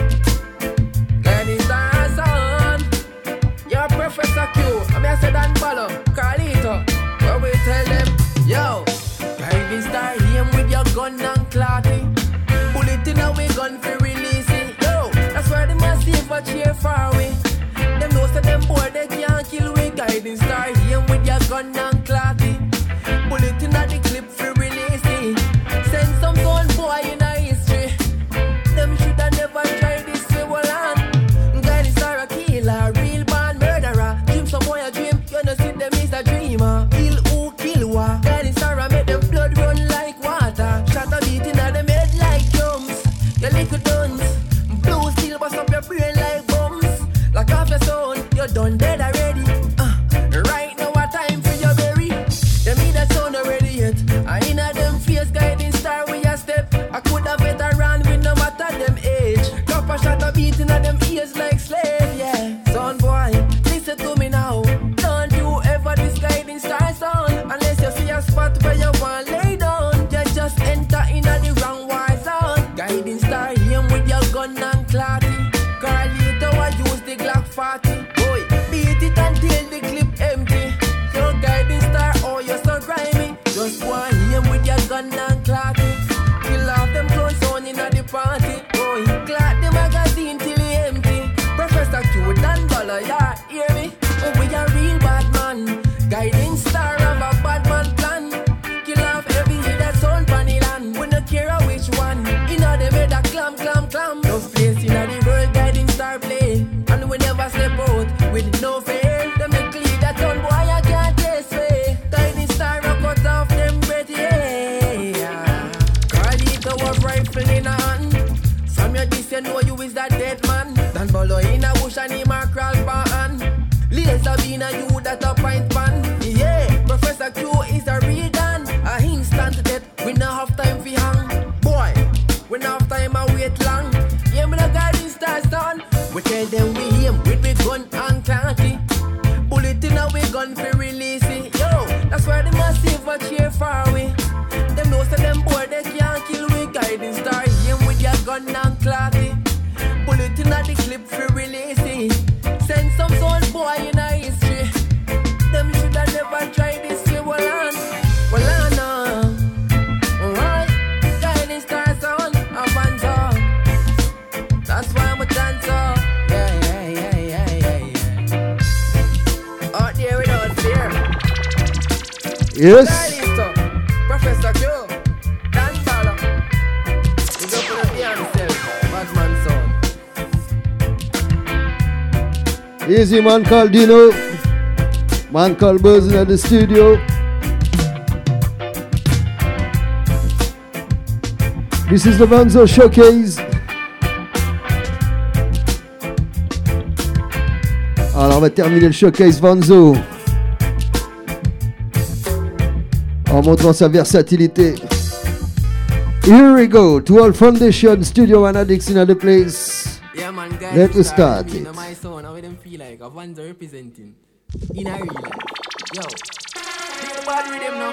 S1: Guiding star sound. Yo, Professor Q. I mean I said Dan Palo. Carlito. Where we tell them, yo, guiding star aim with your gun and clotty. Bullet in our gun for releasing. Yo, that's why they must see for cheer far away. Them know say them boy they can't kill we. Guiding star aim with your gun and clotty. Bullet in the clip for releasing. Send some gun boy in a history. Them shoulda never tried this way, well on. Guiding star a killer, real bad murderer. Dream some boy a dream, you know see them is a dreamer. Kill who, kill what. Guiding star a make them blood run like water. Shot a beat inna them head like drums. You little duns, blue steel bust up your brain like bombs. Like off your sound, you done dead already. Right now a time for your berry. Them need that sound already yet. I inna them face guiding star with your step. I could have veteran with no matter them age. Drop a shot a beat inna them ears like slave, yeah. Son boy, listen to me now. Don't you ever this guiding star sound. Unless you see a spot where you want lay down. You just enter inna the wrong war zone. Guiding star aim with your gun and clotty. Carlito I use the Glock 40. Boy, beat it until the clip empty. Your guiding star, oh you're so grimy. Just go and aim with your gun and clotty. Kill off them clothes on inna the party. Boy, clock the magazine till it empty. Professor Q Dan Dollar, yeah, hear me? Oh, we a real bad man. Guiding star of a bad man plan. Kill off every head that's on funny land. We no care which one. Inna them head a clam. No place inna the world guiding star play. And we never step out with no fear. Them make clear that on boy I can't taste way. Guiding star a cut off them breath, yeah. Carlito was rifle in a hand. From your this you know you is that dead man. Dan Bolo in a bush and him a crawl for hand. Laser bean a you that a pint pan. Yeah, Professor Q is a real gun. A instant death, we no have time for hang. Boy, we no have time a wait long. Yeah, me no guiding star son. We tell them we aim with we gun and clanty. Bullet in a we gun for release it. Yo, that's why they must save a cheer far away. Them know say them boy they can't kill we. Guiding star aim with your gun and clotty. Bullet in a the clip for release it. Send some soul boy in a history. Them shoulda never tried this way, well on. Alright, guiding star sound, a Vanzo. That's why I'm a dancer. Yeah.
S6: Yes.
S2: Professor Q. Dan Sala. He's up with the himself. Batman son.
S6: Easy man called Dino. Man called Buzzing at the studio. This is the Vanzo Showcase. Alors on va terminer le Showcase Vanzo en montrant sa versatilité. Here we go to all foundation, studio and addicts in the place.
S1: Yeah, man, guys,
S6: Let's start it.
S1: You know my son, how them feel like a Vanzo representing in a real life. Yo, pick the bad with them now.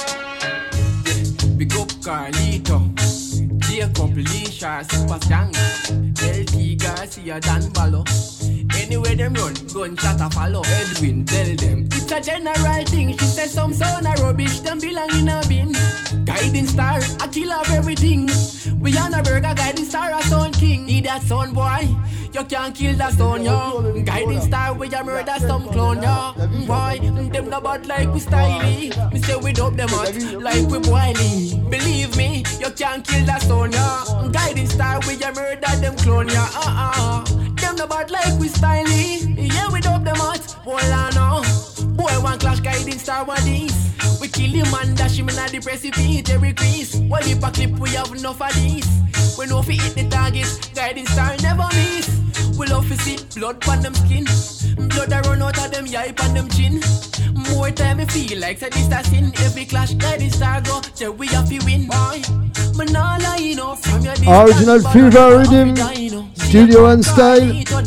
S1: Big up Carlito, Jacob Leisha, Super Stank, LT Garcia, Dan Ballo. Anywhere them run, gunshot a follow. Edwin, tell them it's a general thing. She said some son a rubbish, them belong in a bin. Guiding star, a killer of everything. We on a burger, guiding star, a son king. Need that son boy, you can't kill that son, yo. Guiding star, we a murder some clone, yo. Boy, them no bad like we styly. Me say we dope them out like we boily. Believe me, you can't kill that son, yo. Guiding star, we a murder them clone, yo. Them no bad like we styly. Yeah, we dope them out. Boy, I know. Boy, one clash guiding star one these. We kill him and dash him in a depressive heat every crease. One lip a clip, we have enough of these. We know if we hit the target, guiding star never miss. We love to see blood on them skin. Blood a run out of them yipe on them chin. More time we feel like said this a sin. Every clash guiding star go, till we have to win. Boy, man all I know from your
S6: Original fever rhythm, studio and style.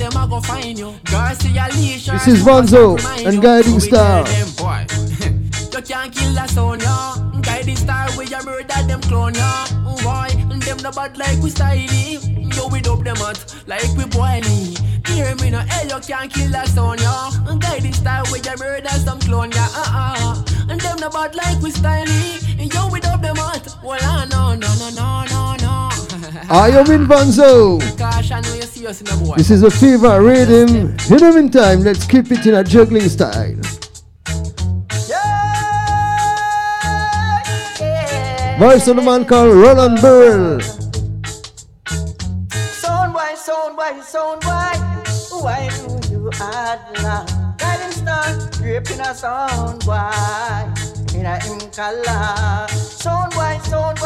S6: This is Vanzo and Guiding Star.
S1: You can't kill a son, yo. Guiding star, we a murder them clone, yo. Boy, them no bad like we styly. Yo, we dope them out like we boily. Hear me now, hey, you can't kill a son, yo. Guiding star, we a murder some clone, yo. And them no bad like we styly. Yo, we dope them out. Well, no.
S6: I am in Vanzo. This is a fever rhythm. In the meantime, let's keep it in a juggling style. Voice of the man called Roland Burrell.
S12: Sound why do you add love? Guiding star, gripping a sound why in a him color. Sound why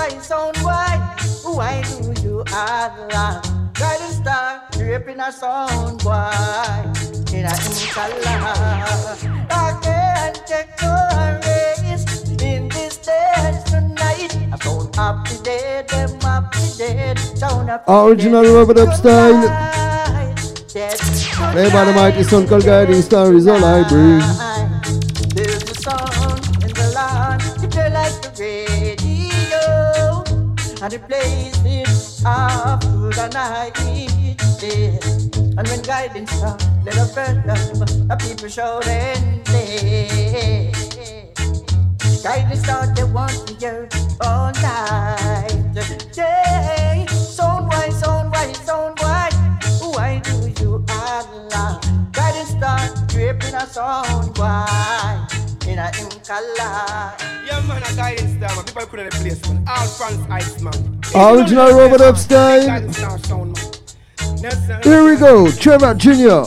S12: do you add love? Guiding star, gripping a sound why in a him color. I can't take no race in this dance tonight. I sound happy dead, them happy dead. Sound happy
S6: Original rubber up style. Play by the mighty son called Guiding Star is all I bring.
S12: There's a song in the land, you play like the radio, and it plays it after the night. And when Guiding Star, let a friend the people shout and say, Guiding Star, they want to hear all night. Yeah, sound why? Why do you Allah? Guiding star, dripping a sound why in a him color.
S2: Yeah, man, a Guiding Star, man. People couldn't replace man. All France ice, man.
S6: Original Robert Up style. Here we go, Trevor Jr.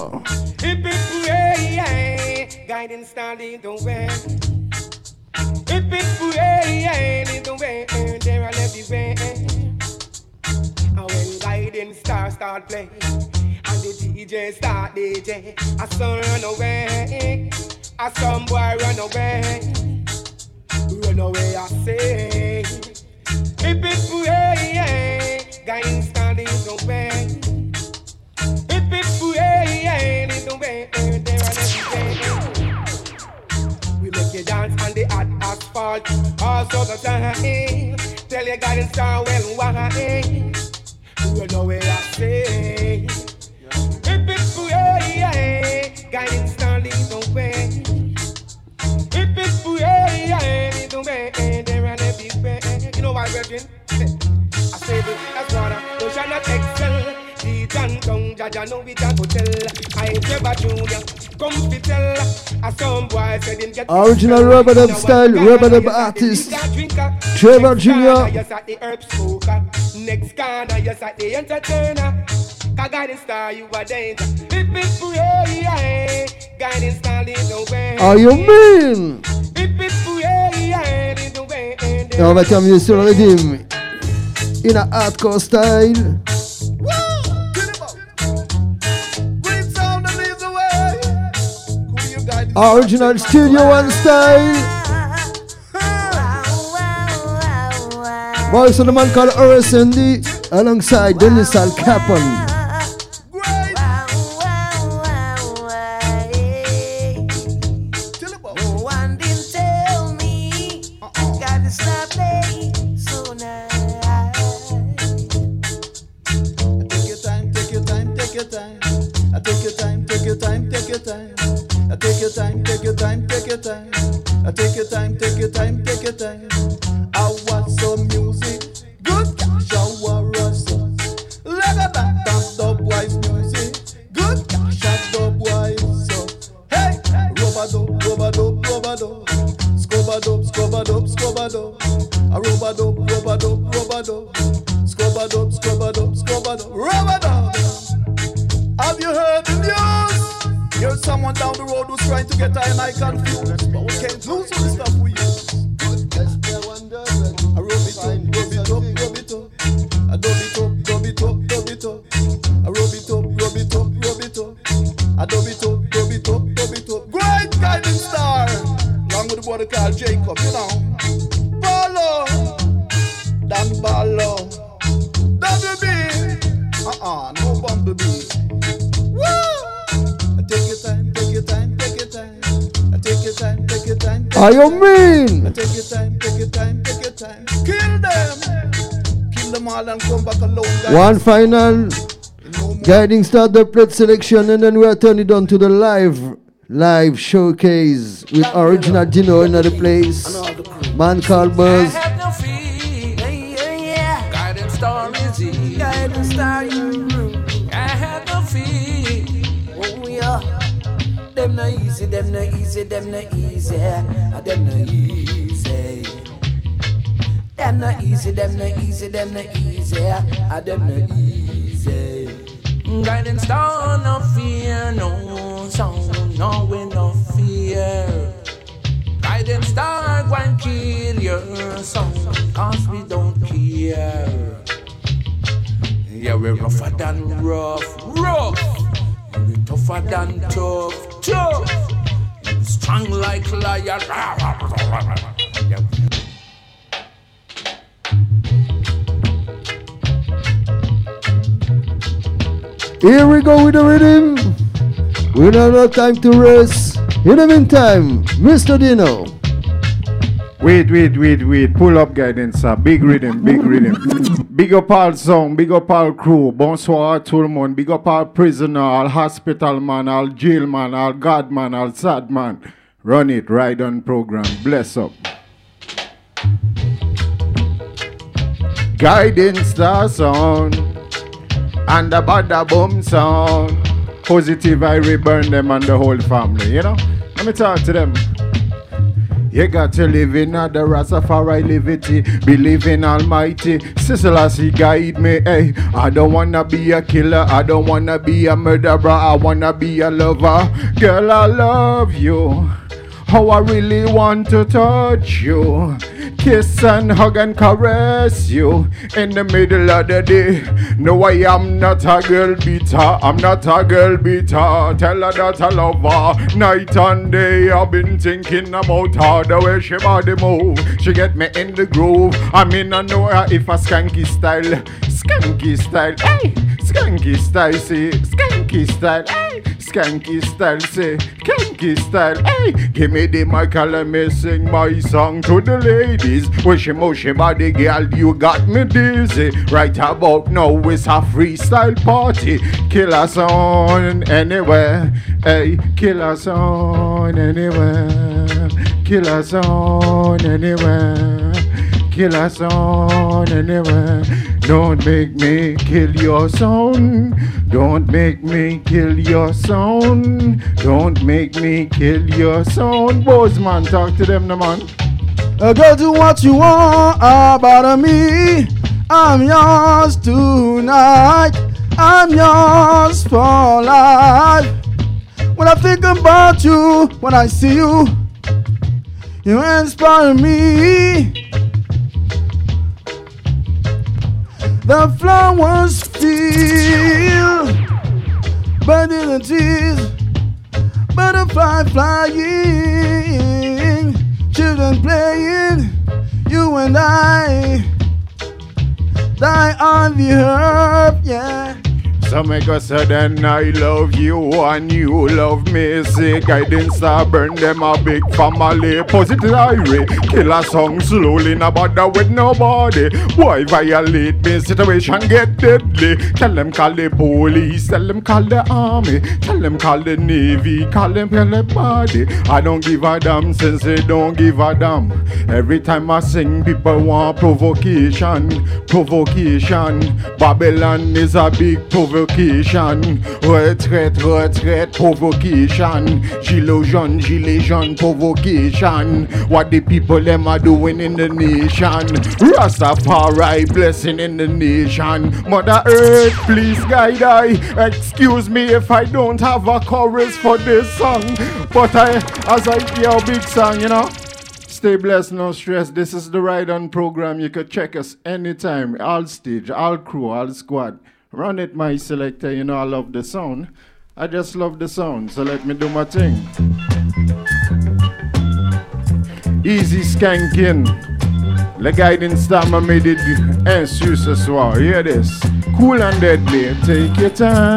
S2: Guiding Star, lead the way. If it's way, lead the way. There are everywhere. And when Guiding Star start playing, and the DJ start DJ, a son run away, a some boy run away, I say. If it's way, Guiding Star lead the way. If it's way, lead the way, there are everywhere. We make you dance on the hot asphalt, also the time. Tell your Guiding Star well why. You know where I say. If it's way, Guiding Star lead the way. If it's way, lead the way, there and everywhere. You know why, Virgin? I say that's water, you shall not excel. The John Kong, Jaja know we can go tell. I Trevor Jr.,
S5: come to tell a some boy said him get
S6: Original rubber dub style, rubber dub artist. Trevor Jr.
S5: Yes at the herb smoker. Next corner, yes at the entertainer. Guiding star, you are danger. If it's pray, guiding star, lead the way.
S6: Are you mean?
S5: If it's pray, lead the way.
S6: Et on va terminer sur le rhythm. In a hardcore style. Original Studio One style. Voice of the man called RSND alongside Dennis Al Capone.
S15: I want some music, good shower us. Let a dance dub wise music, good shot dub wise. Hey, robado, robado, robado, scobado, scobado, scobado, a robado, robado, robado, scobado, scobado, scobado, robado. Have you heard the news? Here's someone down the road who's trying to get I and I confused, but we can't lose the stuff we use. I rub it up, rub it up, rub it up. I dub it up, dub it up, dub it up. I rub it up, rub it up, rub it up. I dub it up, dub it up, dub it up. Great guiding star, along with the brother called Jacob, you know. Ballo, Dan Ballo, WB, no Bumblebee. Woo! Take your time, take your time, take your time. Take your time, take your time.
S6: Are you mean?
S15: Take your time, take your time, take your time. Kill them. Kill them all and come back alone, guys.
S6: One final guiding star the plate selection, and then we'll turn it on to the live showcase with original Dino in the place. Man called Buzz.
S10: Guiding star is he. Guiding star you. I have no fear. Oh yeah. Them no easy, them no easy, them no easy. Them no easy. Them no easy, them no easy, them no easy. Them no easy. Guiding star, no fear, no sound, no we no fear. Guiding star, go and kill your sound, cause we don't care. Yeah, we're rougher than rough, rough. We're tougher than tough, tough. We're strong like lion. Yeah.
S6: Here we go with the rhythm. We don't have time to rest. In the meantime, Mr. Dino.
S23: Wait. Pull up guidance, sir. Big rhythm. Big up all song, big up all crew. Bonsoir à tout le monde. Big up all prisoner, all hospital man, all jail man, all God man, all sad man. Run it, ride on program. Bless up. Guidance star sound. And the bada boom sound. Positive I reburn them and the whole family, you know? Let me talk to them. You got to live in the Rastafari liberty. Believe in Almighty. Selassie guide me, hey. I don't wanna be a killer. I don't wanna be a murderer. I wanna be a lover. Girl, I love you. How I really want to touch you. Kiss and hug and caress you in the middle of the day. No, I am not a girl beater. I'm not a girl beater. Tell her that I love her. Night and day I've been thinking about her. The way she body move. She get me in the groove. I mean I know her if a skanky style. Skanky style, hey. Skanky style, say. Skanky style, hey. Skanky style, say. Skanky style, hey. Give me the mic and let me sing my song to the ladies. Wishy mushy body girl, you got me dizzy. Right about now it's a freestyle party. Kill us on anywhere, hey. Kill us on anywhere. Kill us on anywhere. kill a sound anyway. Don't make me kill your sound. Don't make me kill your sound. Don't make me kill your sound. Bozeman, talk to them, no man.
S8: Go do what you want about me. I'm yours tonight. I'm yours for life. When I think about you, when I see you, you inspire me. The flowers feel, bird in the trees, butterfly flying, children playing, you and I die on the earth, yeah.
S23: So make us say then I love you and you love me. Say guidance star burn them a big family. Positive irate, kill a song slowly, no bother with nobody. Boy violate me, situation get deadly. Tell them call the police, tell them call the army, tell them call the navy, call them body. I don't give a damn since they don't give a damn. Every time I sing people want provocation, provocation. Babylon is a big provocation. Retraite, retraite, provocation. Gilet jaune, provocation. What the people them are doing in the nation. Rastafari blessing in the nation. Mother Earth, please guide I. Excuse me if I don't have a chorus for this song. But as I hear a big song, you know. Stay blessed, no stress. This is the Ride On program. You could check us anytime. All stage, all crew, all squad. Run it, my selector. You know I love the sound. I just love the sound, so let me do my thing. Easy skanking. Le guiding star, I made it insu ce soir. Hear this. Cool and deadly. Take your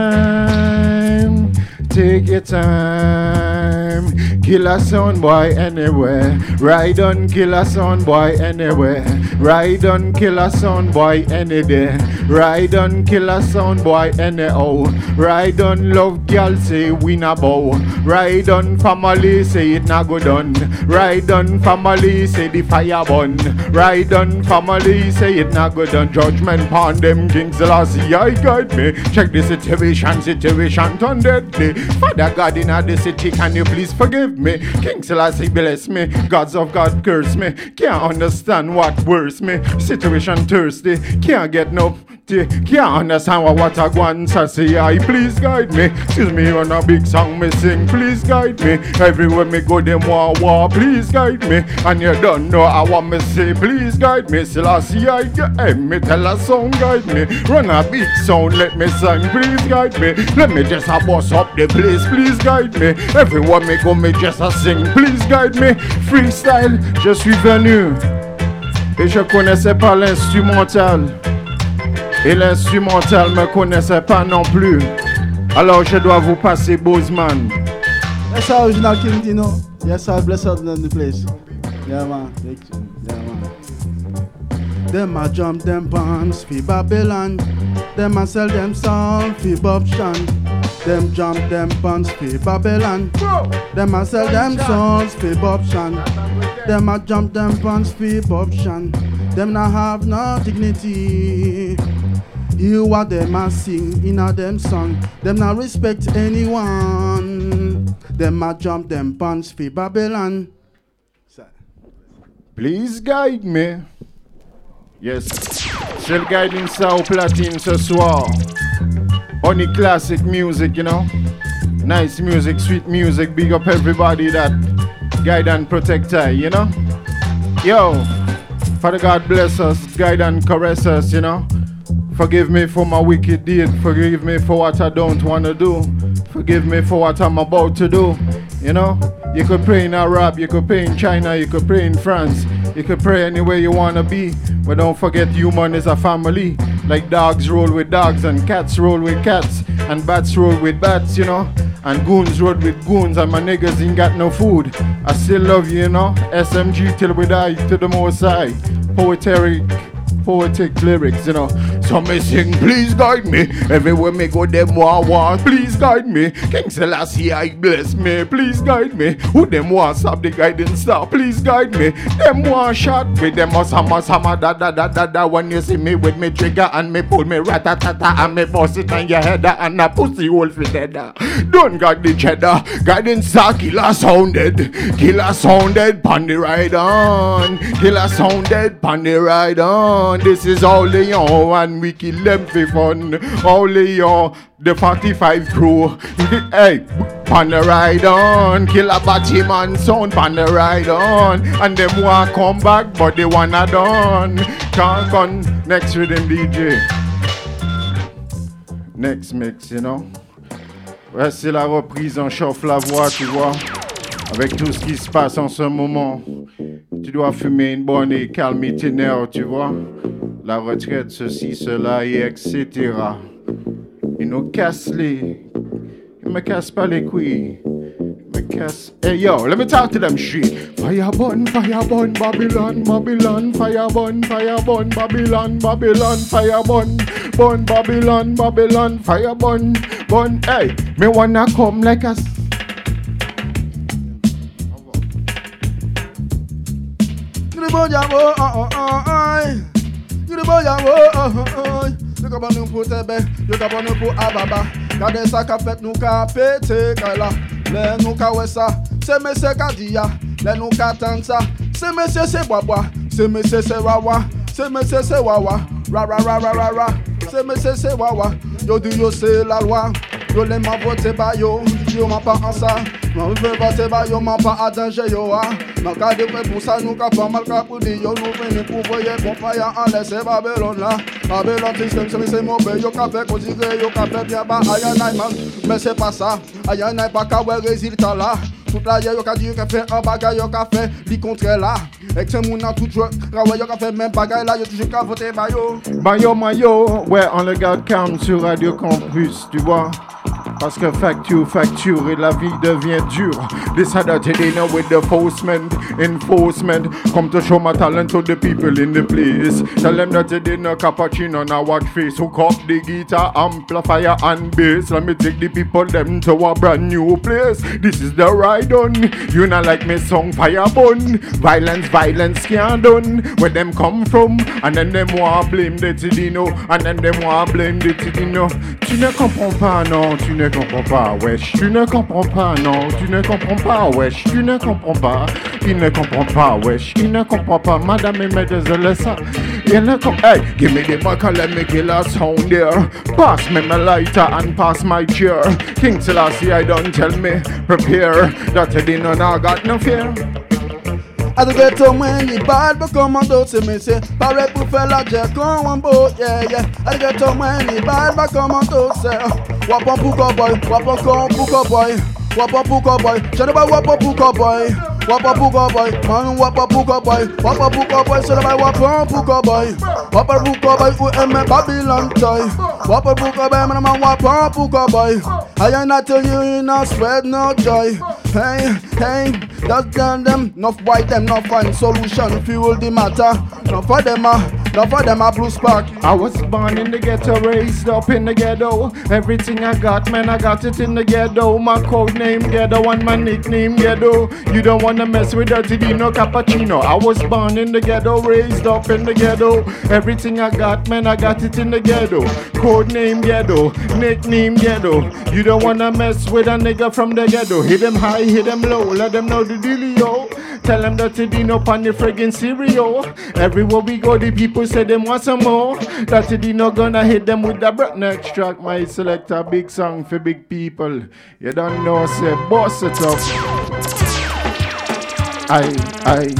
S23: time. Take your time. Kill a sound boy anywhere. Ride on, kill a sound boy anywhere. Ride on, kill a sound boy any day. Ride on, kill a sound boy anyhow. Ride on, love girl say we na bow. Ride on, family say it na go done. Ride on, family say the fire burn. Ride on, family say it na go done. Judgment pon them King Selassie, I guide me. Check the situation turn deadly. Father God in the city, can you please forgive me? King Selassie bless me, gods of God curse me. Can't understand what worse me. Situation thirsty, can't get no tea. Can't understand what I want to say. I please guide me. Excuse me on a big song me sing. Please guide me. Everywhere me go them war. Please guide me. And you don't know I want me say. Please guide me. Selassie I get me tell a song guide me. Run a big sound let me sing. Please guide me. Let me just a boss up the place. Please guide me. Everywhere me go me just a sing. Please guide me. Freestyle. Je suis venu. Et je connaissais pas l'instrumental. Et l'instrumental me connaissait pas non plus. Alors je dois vous passer Bozeman.
S8: That's how original King Dino. Yes, I bless out in the place. Yeah man. Yeah man. Them a jump them bombs fi Babylon. Them a sell them song fi Bob Shan. Them jump them bombs fi Babylon. Them a sell them songs fi Bob Shan. Them a jump them bombs fi Bob Shan. Them not have no dignity. You what them a sing in a them song. Them not respect anyone. Them a jump them bombs fi Babylon.
S23: Please guide me. Yes. C'est le guiding ça au platine ce soir. Only classic music, you know. Nice music, sweet music. Big up everybody that guide and protect I, you know. Yo, Father God bless us, guide and caress us, you know. Forgive me for my wicked deed. Forgive me for what I don't want to do. Forgive me for what I'm about to do. You know, you could pray in Arab, you could pray in China, you could pray in France. You could pray anywhere you want to be. But don't forget human is a family. Like dogs roll with dogs and cats roll with cats. And bats roll with bats, you know. And goons roll with goons and my niggas ain't got no food. I still love you, you know. SMG till we die to the most high. Poetic poetic lyrics, you know. So me sing, please guide me. Everywhere me go, them war. Please guide me. King Selassie, I bless me. Please guide me. Who them want stop the guiding star? Please guide me. Them want shot with them sama da. When you see me with me trigger and me pull me ratatata and me bust it on your head and a pussy hole for dead. Don't got the cheddar. Guiding star, killer sounded. Pon the ride on. Killer sounded, pon the ride on. This is all Leon and we kill them for fun. All Leon, the 45 crew. Hey, pon the ride on. Killer Batman sound, pon the ride on. And them want come back, but they wanna done. Can't come next rhythm DJ. Next mix, you know. Ouais, c'est la reprise, on chauffe la voix, tu vois. Avec tout ce qui se passe en ce moment, tu dois fumer une bonne et calmer tes nerfs, tu vois. La retraite, ceci, cela et etc. Ils nous cassent les... Ils me cassent pas les couilles. Ils me cassent... Hey yo, let me talk to them shit. Fire burn, Babylon. Fire burn, Babylon. Fire burn, Babylon. Fire burn. Hey, me wanna come like a...
S8: Yo ka ban nou pou tebe, yo ka ban nou pou ababa. Gade sa ka fet nou ka pete kaila. Le nou ka wesa, se mese ka diya. Le nou ka tansa, se mese se bois. Se mese se wawa, se mese se wawa. Ra. Se mese se wawa. Yo di yo se la loi. Yo les m'en voté ba yo, yo m'en pas en ça. Non, je veux voter ba yo, m'en pas à danger yo. Dans cas de pour ça, nous ka pas mal ka pour dire yo, nous venons pour voyer bon fire en laisser Babylone là. Babylone système, c'est mauvais, yo ka fait considérer, yo ka fait bien ba aïe man. Mais c'est pas ça, aïe pas ka ouais résultat là. Toute la yo ka dit yo ka fait un bagay yo ka fait li contraire là. Et que c'est mon tout joueur, yo ka fait même bagay là, yo toujours ka voter ba yo.
S23: Mayo, ouais, on le garde calme sur Radio Campus, tu vois. Parce que facture et la vie devient dure. Decided to dinner with the enforcement. Come to show my talent to the people in the place. Tell them that they dinner cappuccino now watch face. Hook up the guitar, amplifier and bass. Let me take the people them to a brand new place. This is the ride on. You not like me song fire bun. Violence can't done. Where them come from? And then them want blame the Tidino. And then them want blame the Tidino. Tu ne comprends pas, non, tu ne comprends pas, wesh. Tu ne comprends pas, non, tu ne comprends pas, wesh. Tu ne comprends pas, il ne comprend pas, wesh. Il ne comprend pas, madame et mesdemoiselles, ça. Il ne comprend pas. Hey, give me the mic and let me kill a sound there. Pass me my lighter and pass my chair. King Selassie, I don't tell me, prepare. That you didn't know, I got no fear.
S8: A the ghetto when you bad but come on don't say me say Paré pour faire la jet come on boat yeah A the ghetto when you bad but come on don't say Wapon pour cowboy, wapon pour cowboy Wapon pour cowboy, je ne pas wapon pour cowboy Wapon pour cowboy, man wapon pour cowboy Wapon pour cowboy, je ne pas wapon pour cowboy Wapon pour cowboy, ou aime Babylon toy Wapon pour cowboy, man wapon pour cowboy I ain't not tell you not spread no joy Hey, that's them, enough white them, not find solution, fuel the matter. Not for them a blue spark.
S23: I was born in the ghetto, raised up in the ghetto. Everything I got, man, I got it in the ghetto. My code name ghetto and my nickname ghetto. You don't wanna mess with Dirty Dino Cappuccino. I was born in the ghetto, raised up in the ghetto. Everything I got, man, I got it in the ghetto. Code name ghetto, nickname ghetto. You don't wanna mess with a nigga from the ghetto. Hit them high, hit them low, let them know the dealio. Tell them that they dino pan the friggin' cereal. Everywhere we go, the people say them want some more. That they dino gonna hit them with the breath. Next track, my select a big song for big people. You don't know, say boss it up. Aye.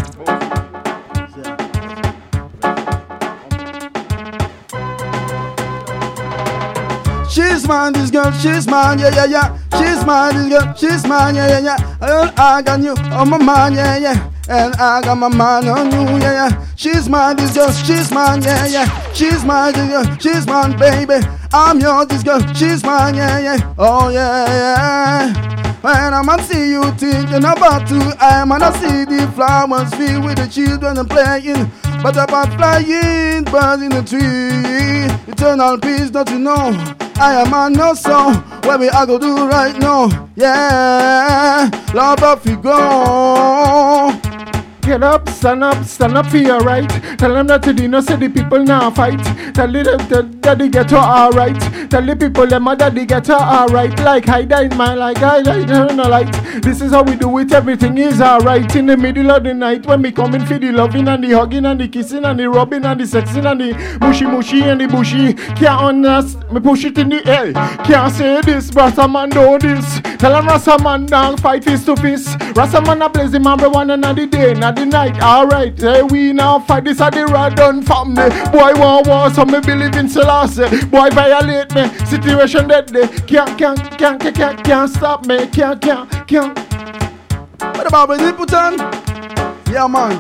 S8: She's mine, this girl, she's mine, yeah. She's mine, this girl, she's mine, yeah. I got you on my mind, yeah. And I got my mind on you, yeah. She's mine, this girl, she's mine, yeah. She's mine, this girl, she's mine, baby. I'm yours, this girl, she's mine, yeah. Oh, yeah. When I'm see you thinking about to, I'm gonna see the flowers filled with the children and playing. But about flying birds in the tree, eternal peace, don't you know? I am on no song, where we are go do right now. Yeah, love up we go.
S23: Get up for your right. Tell them that today no say the people now fight. Tell them that they get her alright. Tell the people them that they get her alright. Like I died man, like I died in the light. This is how we do it, everything is alright. In the middle of the night when we come in for the loving and the hugging and the kissing and the rubbing and the sexing and the mushy and the bushy. Can't understand, me push it in the air. Can't say this, Rasta man do this. Tell them Rasta man down fight fist to fist. Rasta man a blaze him every one another day. The night, alright, hey, we now fight this at the Radon family. Boy want war, so me believe in Selassie. Boy violate me, situation deadly. Can't stop me, can't.
S8: What about when you put on? Yeah man.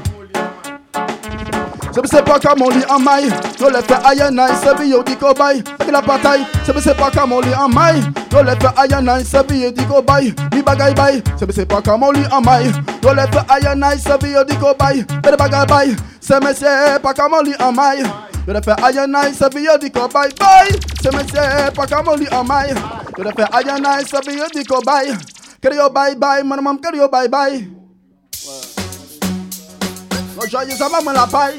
S8: Se me c'est pas comme on lit en maille. Yo le fait aïe nice, se bi yo di ko bay. Avec la bataille. Se me c'est pas comme on lit en maille. Yo le fait aïe nice, se bi yo di ko bay. Ni bagay bay. Se me c'est pas comme on lit en maille. Yo le fait aïe nice, se bi yo di ko bay. Bede bagay bay. Se me c'est pas comme on lit en maille. Yo le fait aïe nice, se bi yo di ko bay. Bay. Se me c'est pas comme on lit en maille. Yo le fait aïe nice, se bi yo di ko bay. Kere yo bye bye, man mam kere yo bye bye. No joyeux ça va me la paille.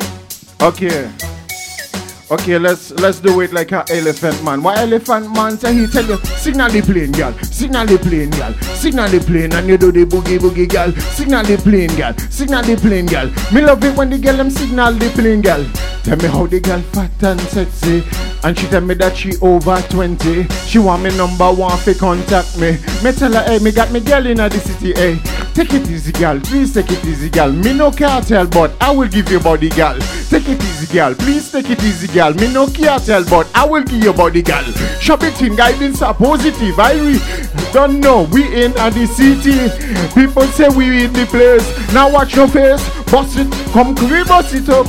S23: Okay, let's do it like a elephant man. Why elephant man say he tell you signal the plane, girl, signal the plane, girl, signal the plane, and you do the boogie, girl, signal the plane, girl, signal the plane, girl. Me love it when the girl them signal the plane, girl. Tell me how the girl fat and sexy, and she tell me that she over 20. She want me number one fi contact me. Me tell her, hey, me got me girl in the city, hey. Take it easy, girl, please take it easy, girl. Me no cartel, but I will give you body, girl. Take it easy, girl, please take it easy, girl. Me no cartel, but I will give you body, girl. Shop it in guidance are positive. I don't know, we in the city. People say we in the place. Now watch your face, bust it, come we bust it up.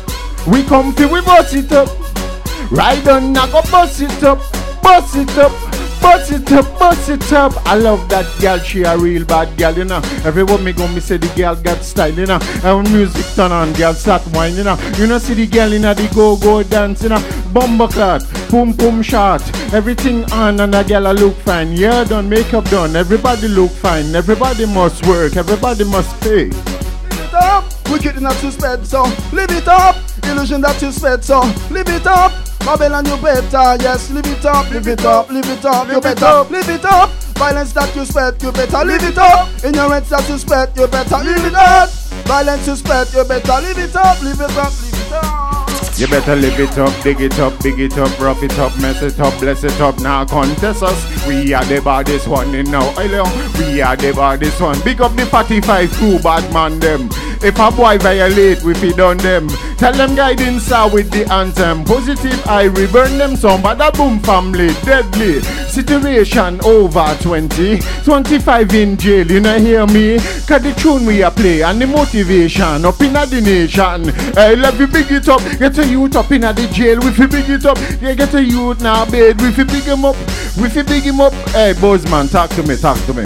S23: We come fi we bust it up. Ride on, now go bust it up, bust it up. Bust it up, bust it up. I love that girl, she a real bad girl, you know. Everywhere me go, me say the girl got style, you know. And when music turn on, girl start whine, you know. You know, see the girl in the go-go dance, you know. Bumper clot, pum shot, everything on and the girl a look fine. Yeah, done, makeup done, everybody look fine. Everybody must work, everybody must pay.
S8: Live it up, wicked not to sped, so live it up. Illusion that you sped, so live it up. Babylon, you better, yes, live it up, live it up, live it up, you better, live it up. Violence that you spread, you better live it up. Ignorance that you spread, you better live it up. Violence you spread, you better live it up, live it up, live it up.
S23: You better live it up, dig it up, big it up, rough it up, mess it up, bless it up. Now contest us, we are the baddest one in now. We are the baddest one. Big up the 45 crew, bad man them. If a boy violate, we feed on them. Tell them guidance are with the anthem. Positive, I reburn them some. Bada boom family, deadly. Situation over 20. 25 in jail, you know hear me? Cause the tune we a play and the motivation up in the nation. Hey, let me big it up. Get a youth up in the jail. We fi big it up. Yeah, get a youth now bed. We fi big him up. We fi big him up. Hey, Bossman, talk to me, talk to me.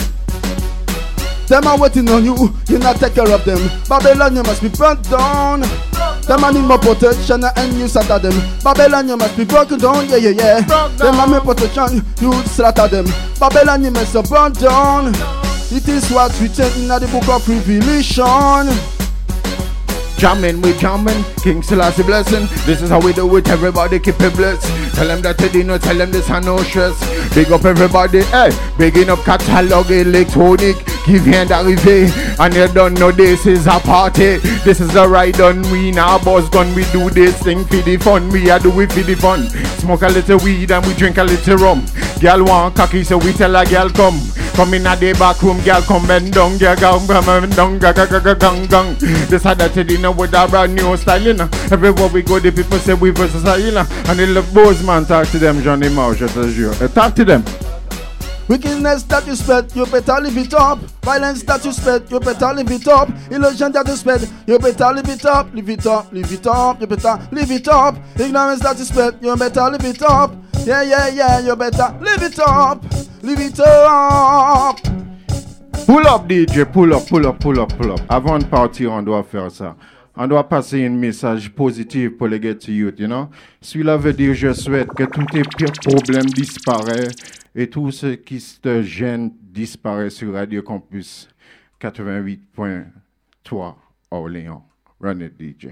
S8: Them are waiting on you, you not take care of them. Babylon, you must be burnt down. Them are need more protection and you slaughter them. Babylon, you must be broken down, yeah. Them are more protection, you slaughter them. Babylon, you must be burnt down. It is what's written in the book of Revelation.
S23: Jamming, we jamming, King Selassie blessing. This is how we do it, everybody keep it blessed. Tell them that they did not, tell them this and no stress. Big up everybody, hey, bigging up catalog electronic. Give hand arrivé, and you don't know this is a party. This is a ride on, we now boss gun. We do this thing for the fun, we are do it for the fun. Smoke a little weed and we drink a little rum. Girl want cocky, so we tell a girl come. Come in a the back room, girl come bend down, girl come bend down, gang. This had that you know with a brand new style, you know. Everywhere we go, the people say we versatile, you know. And they love Bossman, talk to them, Johnny Mouse, je te jure. Talk to them.
S8: Wickedness that you spread, you better live it up. Violence that you spread, you better live it up. Illusion that you spread, you better live it up. Live it up, live it up, you better live it up. Ignorance that you spread, you better live it up. Yeah, you better live it up. Live it up.
S23: Pull up DJ, pull up. Avant de partir, on doit faire ça. On doit passer un message positif pour les get to youth, you know. Celui-là veut dire je souhaite que tous tes pires problèmes disparaissent et tout ce qui te gêne disparaît sur Radio Campus 88.3 Orléans. Run it, DJ.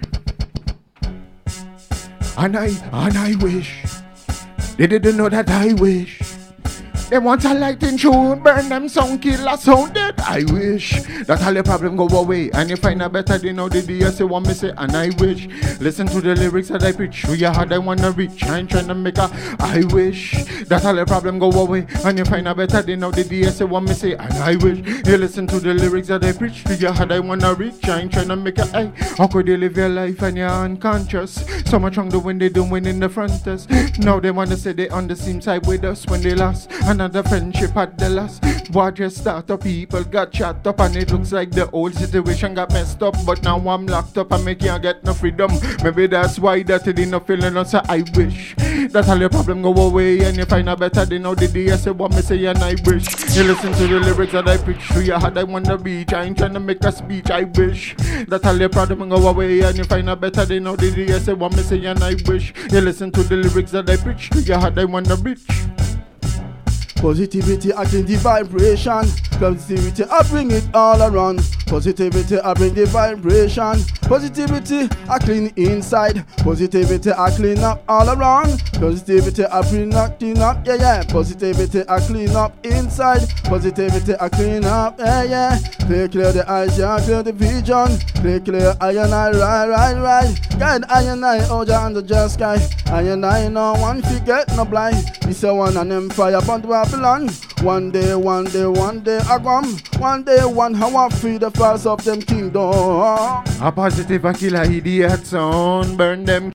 S23: And I wish they didn't know that I wish. They want a lighting tune, burn them sound killer sound dead. I wish that all the problem go away and you find a better than how the DSA want me say. And I wish, listen to the lyrics that I preach. Through your heart I wanna reach. I ain't trying to make a. I wish that all the problem go away and you find a better than how the DSA want me say. And I wish you listen to the lyrics that I preach. Through your heart I wanna reach. I ain't trying to make a. Hey, how could you live your life and you're unconscious? So much wrong when they doing in the front us. Now they wanna say they on the same side with us when they lost. Another friendship at the last. What just started, people got shut up and it looks like the old situation got messed up. But now I'm locked up and me can't get no freedom. Maybe that's why that it didn't feel no. So I wish that all your problem go away and you find a better than how the DSA what me say. And I wish you listen to the lyrics that I preach. Through your heart I wanna reach. I ain't trying to make a speech. I wish that all your problem go away and you find a better than how the DSA what me say. And I wish you listen to the lyrics that I preach. Through your heart I wanna reach.
S8: Positivity, I bring the vibration. Positivity, I bring it all around. Positivity, I bring the vibration. Positivity, I clean inside. Positivity, I clean up all around. Positivity, I bring up, yeah, yeah. Positivity, I clean up inside. Positivity, I clean up, yeah, yeah. Clear the eyes, yeah, clear the vision. Clear, I and I, right. Guide, I and I, over under the sky. I and I, no one forget, no blind. It's a one and empire, but Babylon. One day, I come. One day, how I free the falls of them kingdom.
S23: A positive, a killer idiot sound, burn them.